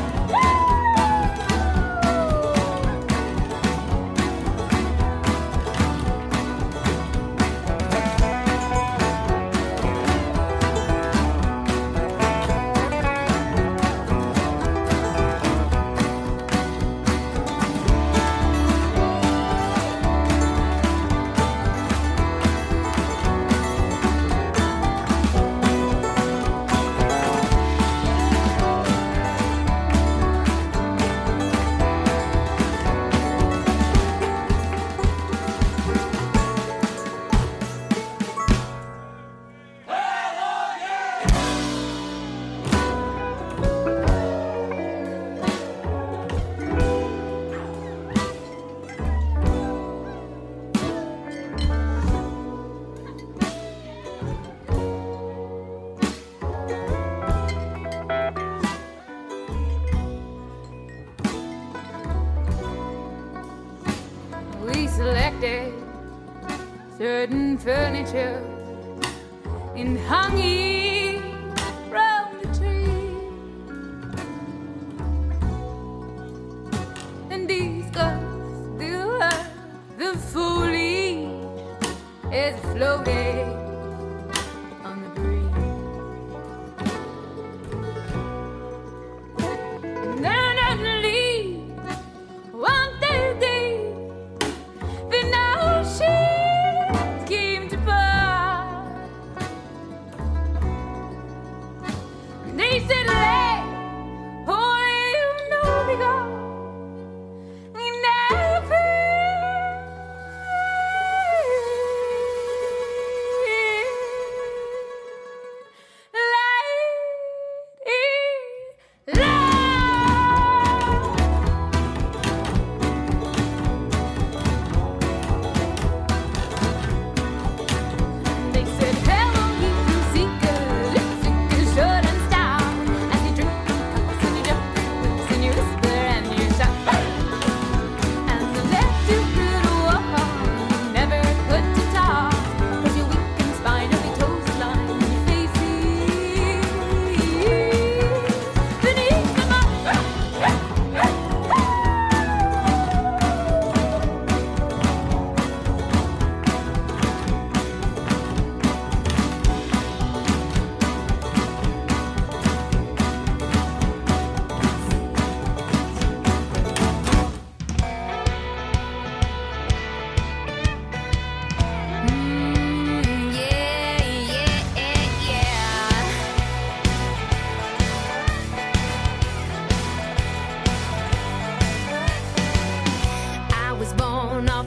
We selected certain furniture and hung it from the tree, and discussed the earth, the foliage as it floated on the breeze. And then suddenly, one Thursday,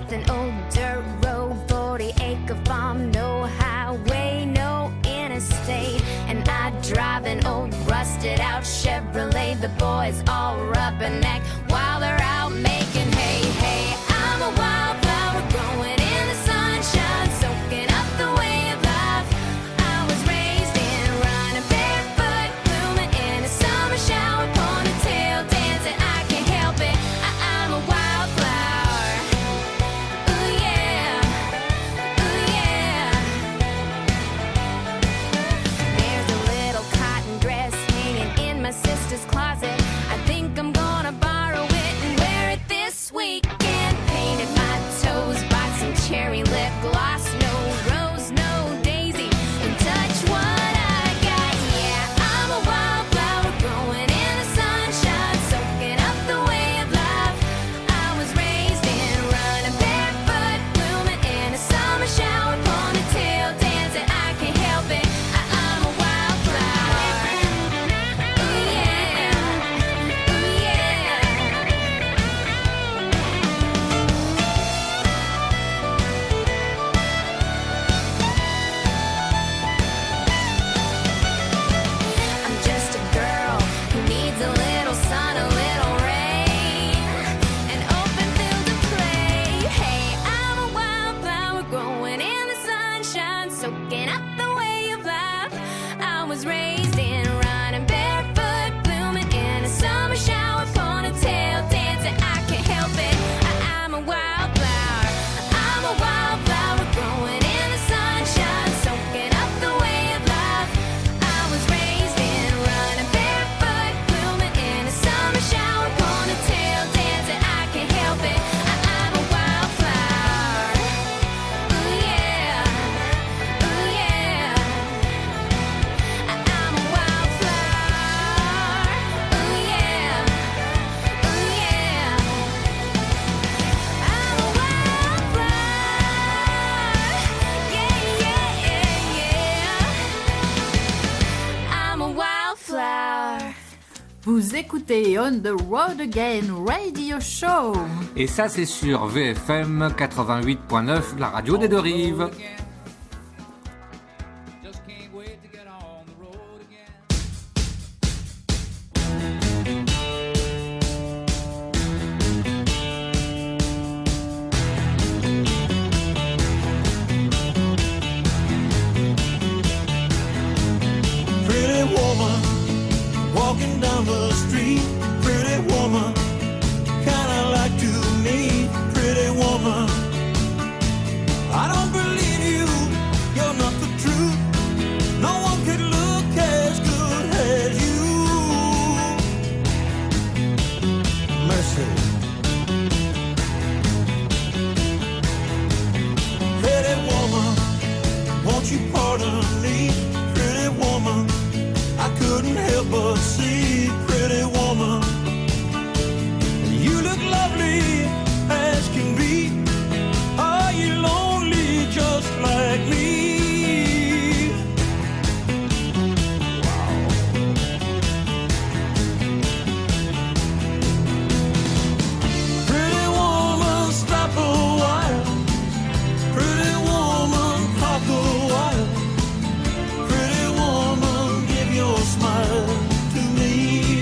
It's an old dirt road, forty acre farm, no highway, no interstate. And I drive an old rusted out Chevrolet. The boys all rubberneck while they're out making hay. Hey, I'm a wildflower growing in the sunshine, soaking up the way of life I was raised in, running barefoot, blooming in a summer shower, ponytail dancing, I can't help it. I, I'm a wildflower. Ooh yeah, ooh yeah. There's a little cotton dress hanging in my sister's closet. I think I'm gonna borrow it and wear it this weekend. Painted my toes by some cherry lip gloss. No rose, no daisy, and touch what I got. Yeah, I'm a wildflower growing in the sunshine, soaking up the way of life I was raised in, running barefoot, blooming in a summer shower, ponytail dancing, I can't help it. I, I'm a wildflower. Ooh yeah, ooh yeah. I'm just a girl who needs a little sun, a little rain, an open field to play. Hey, I'm a wildflower growing in the sunshine, soaking up the way of life I was raised in, running barefoot, blooming in a summer shower, ponytail dancing, I can't help it. I, I'm a wildflower. I'm a wildflower growing in the sunshine, soaking up the way of life I was raised in, running barefoot, blooming in a summer shower, ponytail dancing, I can't help it. I, I'm a wildflower. Ooh yeah, ooh yeah. I, I'm a wildflower. Ooh yeah, ooh yeah. I'm a wildflower. Yeah, yeah, yeah, yeah. I'm a wildflower. Vous écoutez On the Road Again Radio Show. Et ça, c'est sur V F M quatre-vingt-huit point neuf, la radio des deux rives. Pretty woman, walking down the street. Pretty woman, kinda like to meet. Pretty woman, I don't believe you, you're not the truth. No one could look as good as you. Mercy. Pretty woman, won't you pardon me? Pretty woman, I couldn't help but see. Pretty woman, you look lovely as can be. Are you lonely just like me? Wow. Pretty woman, stop a while. Pretty woman, talk a while. Pretty woman, give your smile to me.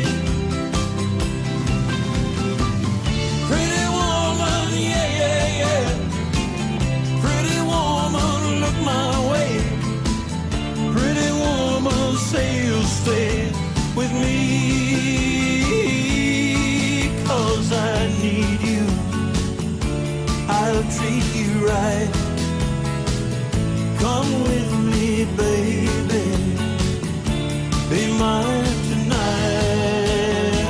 Pretty woman, yeah, yeah, yeah. Pretty woman, look my way. Pretty woman, say you'll stay with me. 'Cause I need you, I'll treat you right. Come with me, baby, be mine tonight.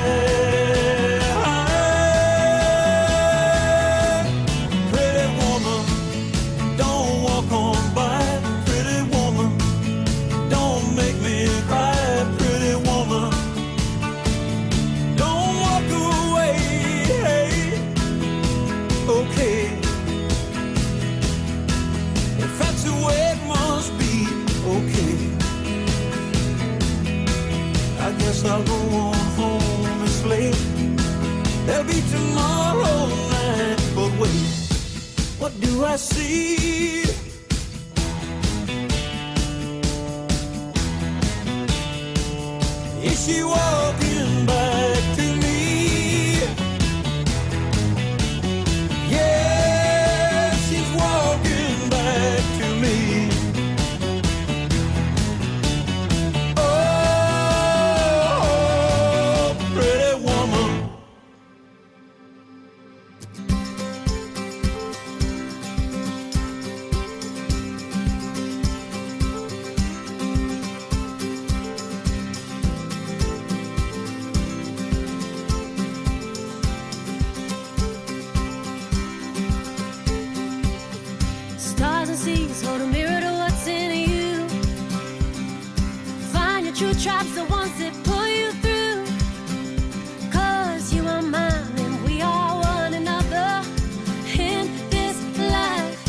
Pretty woman, don't walk on by. Pretty woman, don't make me cry. Pretty woman, don't walk away. Hey, okay, if that's the way it must be, okay. I guess I'll go on home. It's late. There'll be tomorrow night, but wait. do I see? Is she walking back to me? Yeah, she's walking back to me. Oh, pretty woman. Stars and seas hold a mirror to what's in you. Find your true tribes, the ones that pull you through. Cause you are mine and we are one another in this life.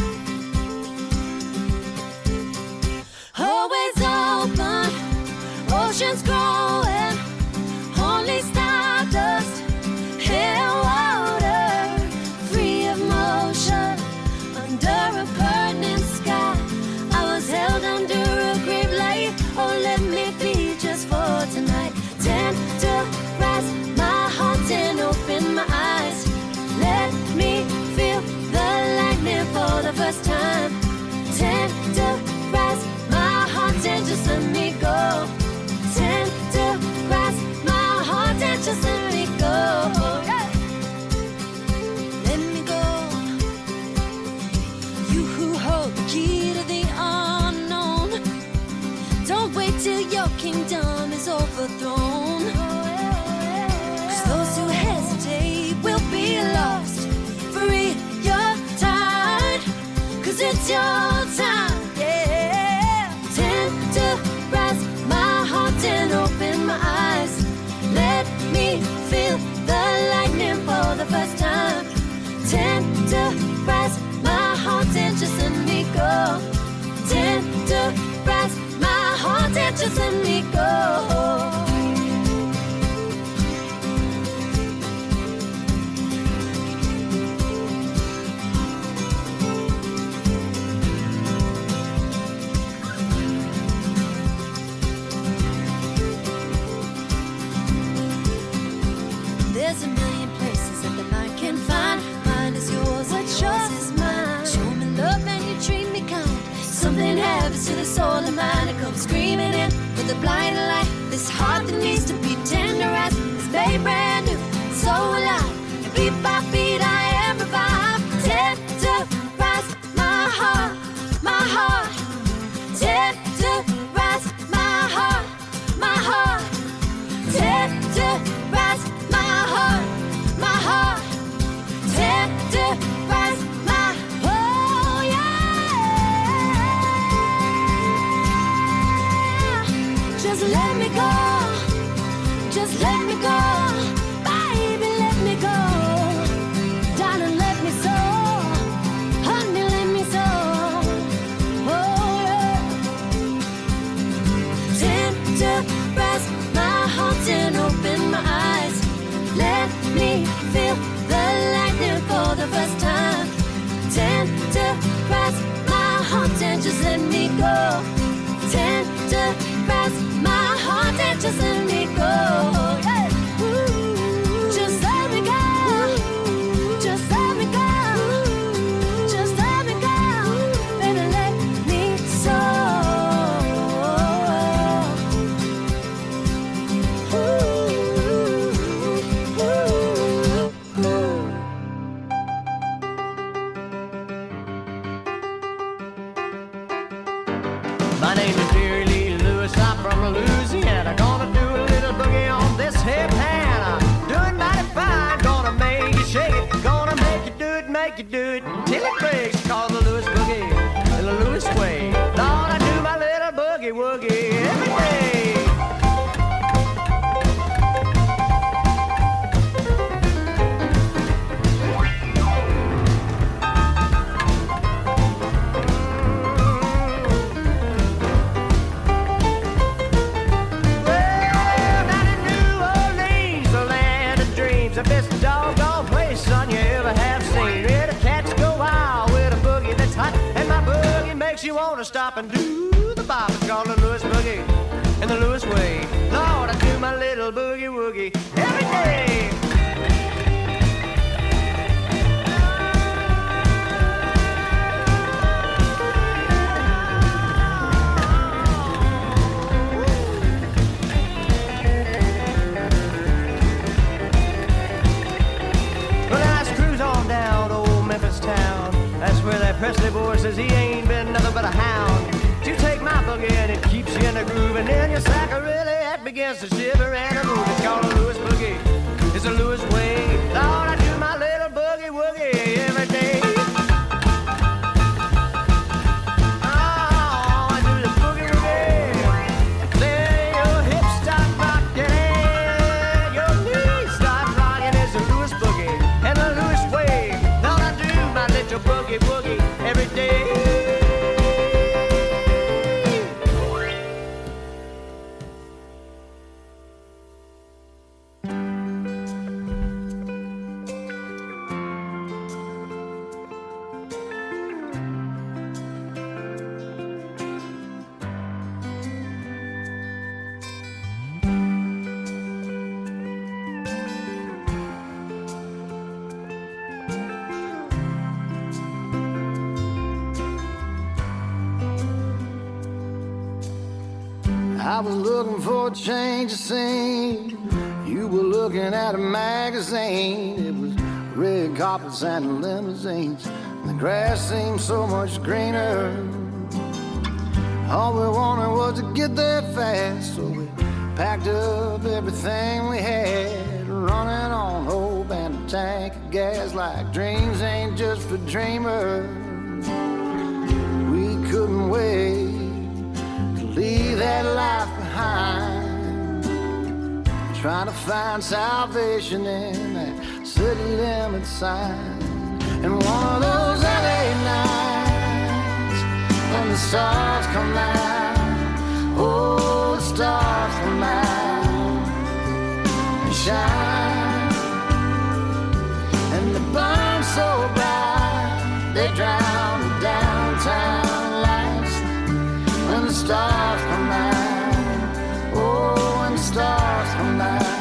Always open, oceans growing, only stardust and water, free of motion. Under a burning sky, I was held under a grave light. Oh, let me be just for tonight. Tenderize my heart and open my eyes. Let me feel the lightning for the first time. Tenderize my heart and just let me go. Tenderize my heart and just let me go. Yeah. Let me go. You who hold the key to the unknown, don't wait till your kingdom is overthrown. Cause those who hesitate will be lost. Free your tide, cause it's your time, yeah. Tenderize my heart and open my eyes. Let me feel the lightning for the first time. Tenderize my heart and just let me go. Tenderize my heart and just let me go. There's a million places that the mind can find. Mine is yours, what's yours is mine. Show me love and you treat me kind. Something happens to the soul of mine. It comes screaming in with a blind light. This heart that needs to be tenderized is made brand new, so alive. And beat by beat I am revived. Tenderize my heart, my heart. Tenderize my heart, my heart. Tenderize my heart, my heart. Tenderize my, oh yeah. Just let me go, just let me go, baby, let me go. Darling, let me so, honey, let me so, oh yeah. Tenderize my heart and open my eyes. Let me feel the lightning for the first time. Tenderize my heart and just let me go. Tenderize my heart and just let me go. Yeah. Ooh. Just let me go. Just let me go. Just let me go. Baby, let me so. My name is Jerry Lee Lewis, I'm from Louisiana. Gonna do a little boogie on this hip hand. I'm doing mighty fine, gonna make you shake it. Gonna make you do it, make you do it till it breaks. Call the Lewis boogie, in the Lewis way. Lord, I do my little boogie woogie every day. makes you want to stop and do the bop. It's called the Lewis Boogie in the Lewis way. Lord, I do my little boogie woogie every day. That's where that Presley boy says he ain't been nothing but a hound. You take my boogie and it keeps you in the groove, and then your sacker really it begins to shiver and to move. It's called a Lewis Boogie. It's a Lewis way. Lord, I do my little boogie woogie every day. Oh, I do the boogie woogie. Then your hips start rocking, your knees start rocking. It's a Lewis Boogie and a Lewis way. Lord, I do my little boogie woogie every day. I was looking for a change of scene. You were looking at a magazine. It was red carpets and limousines. The grass seemed so much greener. All we wanted was to get there fast, so we packed up everything we had, running on hope and a tank of gas. Like dreams ain't just for dreamers. We couldn't wait to leave that life behind, trying to find salvation in that city limit sign. And one of those L A nights when the stars come out, oh, the stars come out and shine, and they burn so bright they drown the downtown lights. When the stars come out, oh, when the stars come out.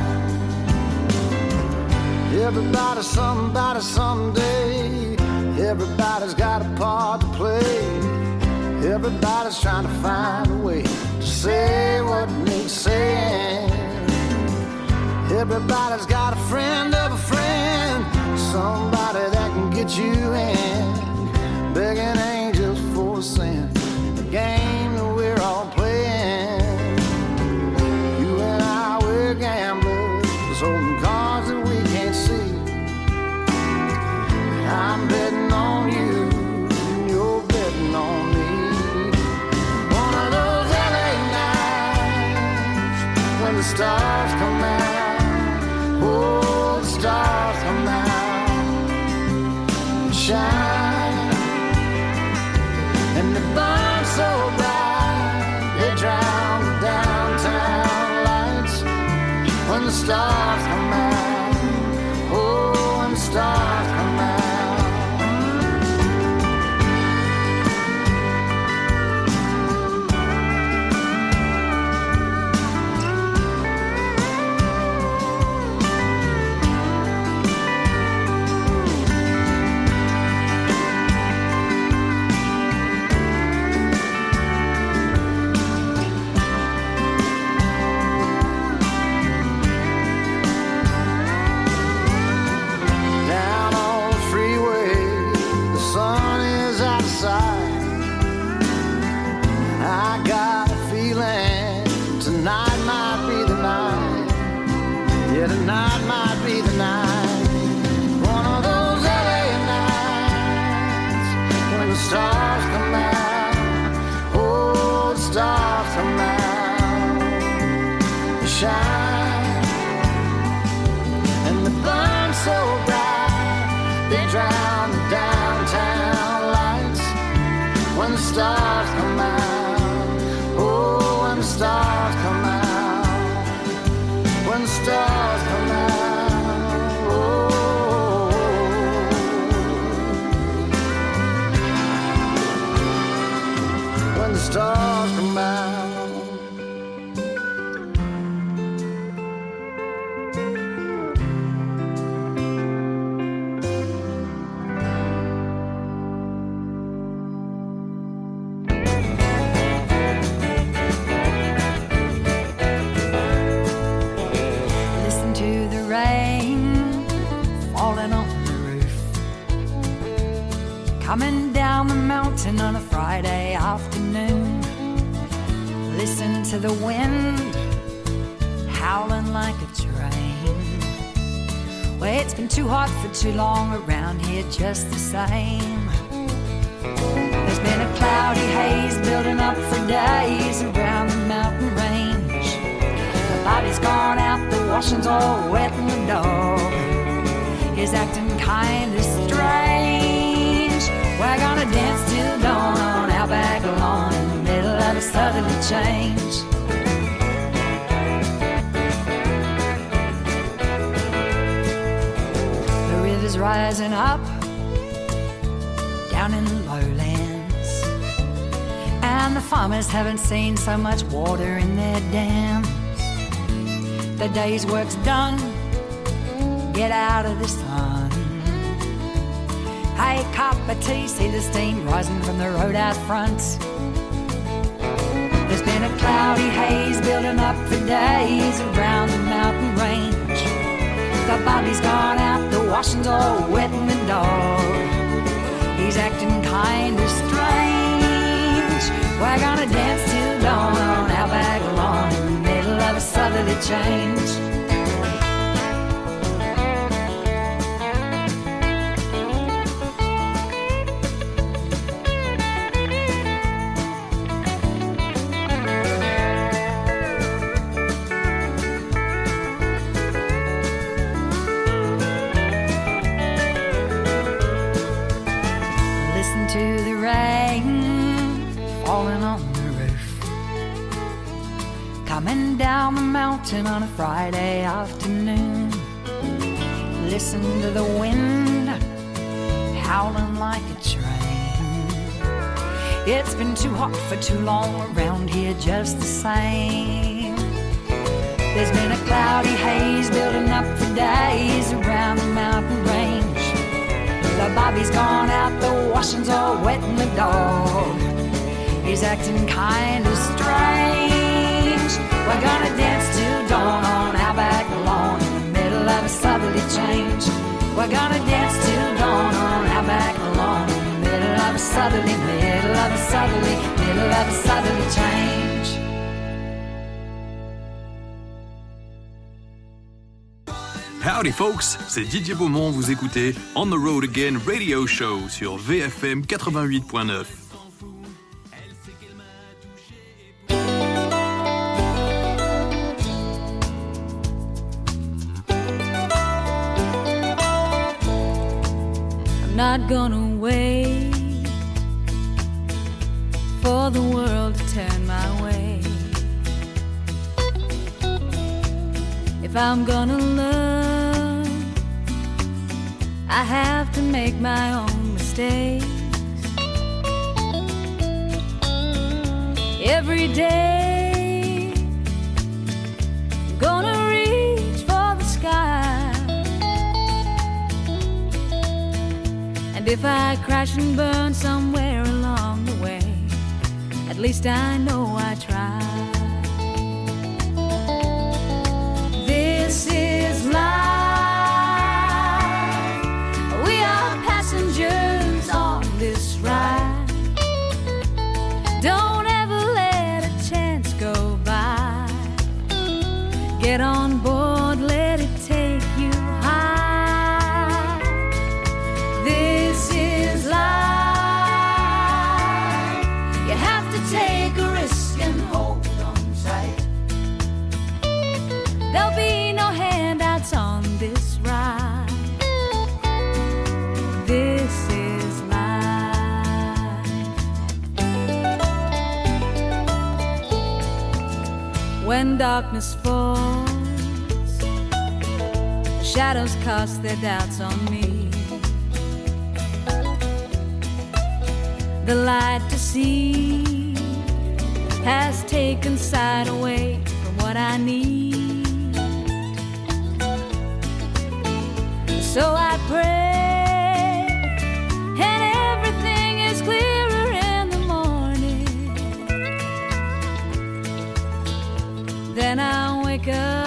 Everybody's somebody someday. Everybody's got a part to play. Everybody's trying to find a way to say what needs saying. Everybody's got a friend of a friend, somebody that can get you in, begging angels for sin. The game that we're all playing. You and I, we're gamblers, holding cards that we can't see. I'm betting on you, and you're betting on me. One of those L A nights when the stars come out, oh, the stars come out and shine, and they burn so bright they drown the downtown lights. When the stars come out, oh, when the stars come out. Tonight might be the night, one of those L A nights when the stars come out, oh, the stars come out, they shine, and they burn so bright, they drown the downtown lights. When the stars come out, oh, when the stars come out, when the stars come out, oh. Coming down the mountain on a Friday afternoon. Listen to the wind howling like a train. Well, it's been too hot for too long around here just the same. There's been a cloudy haze building up for days around the mountain range. The body's gone out, the washing's all wet, and the dog is acting kinda strange. We're gonna dance till dawn on our back lawn in the middle of a southerly change. The river's rising up down in the lowlands, and the farmers haven't seen so much water in their dams. The day's work's done, get out of the sun. Hey, cup of tea, see the steam rising from the road out front. There's been a cloudy haze building up for days around the mountain range. The bobby's gone out, the washing's all wet, and the dog, he's acting kinda strange. We're gonna dance till dawn on our back lawn in the middle of a southerly change. To the rain falling on the roof, coming down the mountain on a Friday afternoon. Listen to the wind howling like a train. It's been too hot for too long around here just the same. There's been a cloudy haze building up for days around the mountain range. The bobby's gone out, the washing's all wet, and the dog, he's acting kinda strange. We're gonna dance till dawn on our back lawn in the middle of a southerly change. We're gonna dance till dawn on our back lawn in the middle of a southerly, middle of a southerly, middle of a southerly change. Howdy folks, c'est Didier Beaumont, vous écoutez On the Road Again Radio Show sur V F M quatre-vingt-huit point neuf. I'm not gonna wait for the world to turn my way. If I'm gonna learn, I have to make my own mistakes. Every day, I'm gonna reach for the sky. And if I crash and burn somewhere along the way, at least I know I tried. This is life. We are passengers on this ride. Don't ever let a chance go by. Get on board, let it take you high. This is life. You have to take a risk and hold on tight. There'll be no handouts on this ride. This is life. When darkness falls, shadows cast their doubts on me. The light to see has taken sight away from what I need. So I pray, and everything is clearer in the morning. Then I wake up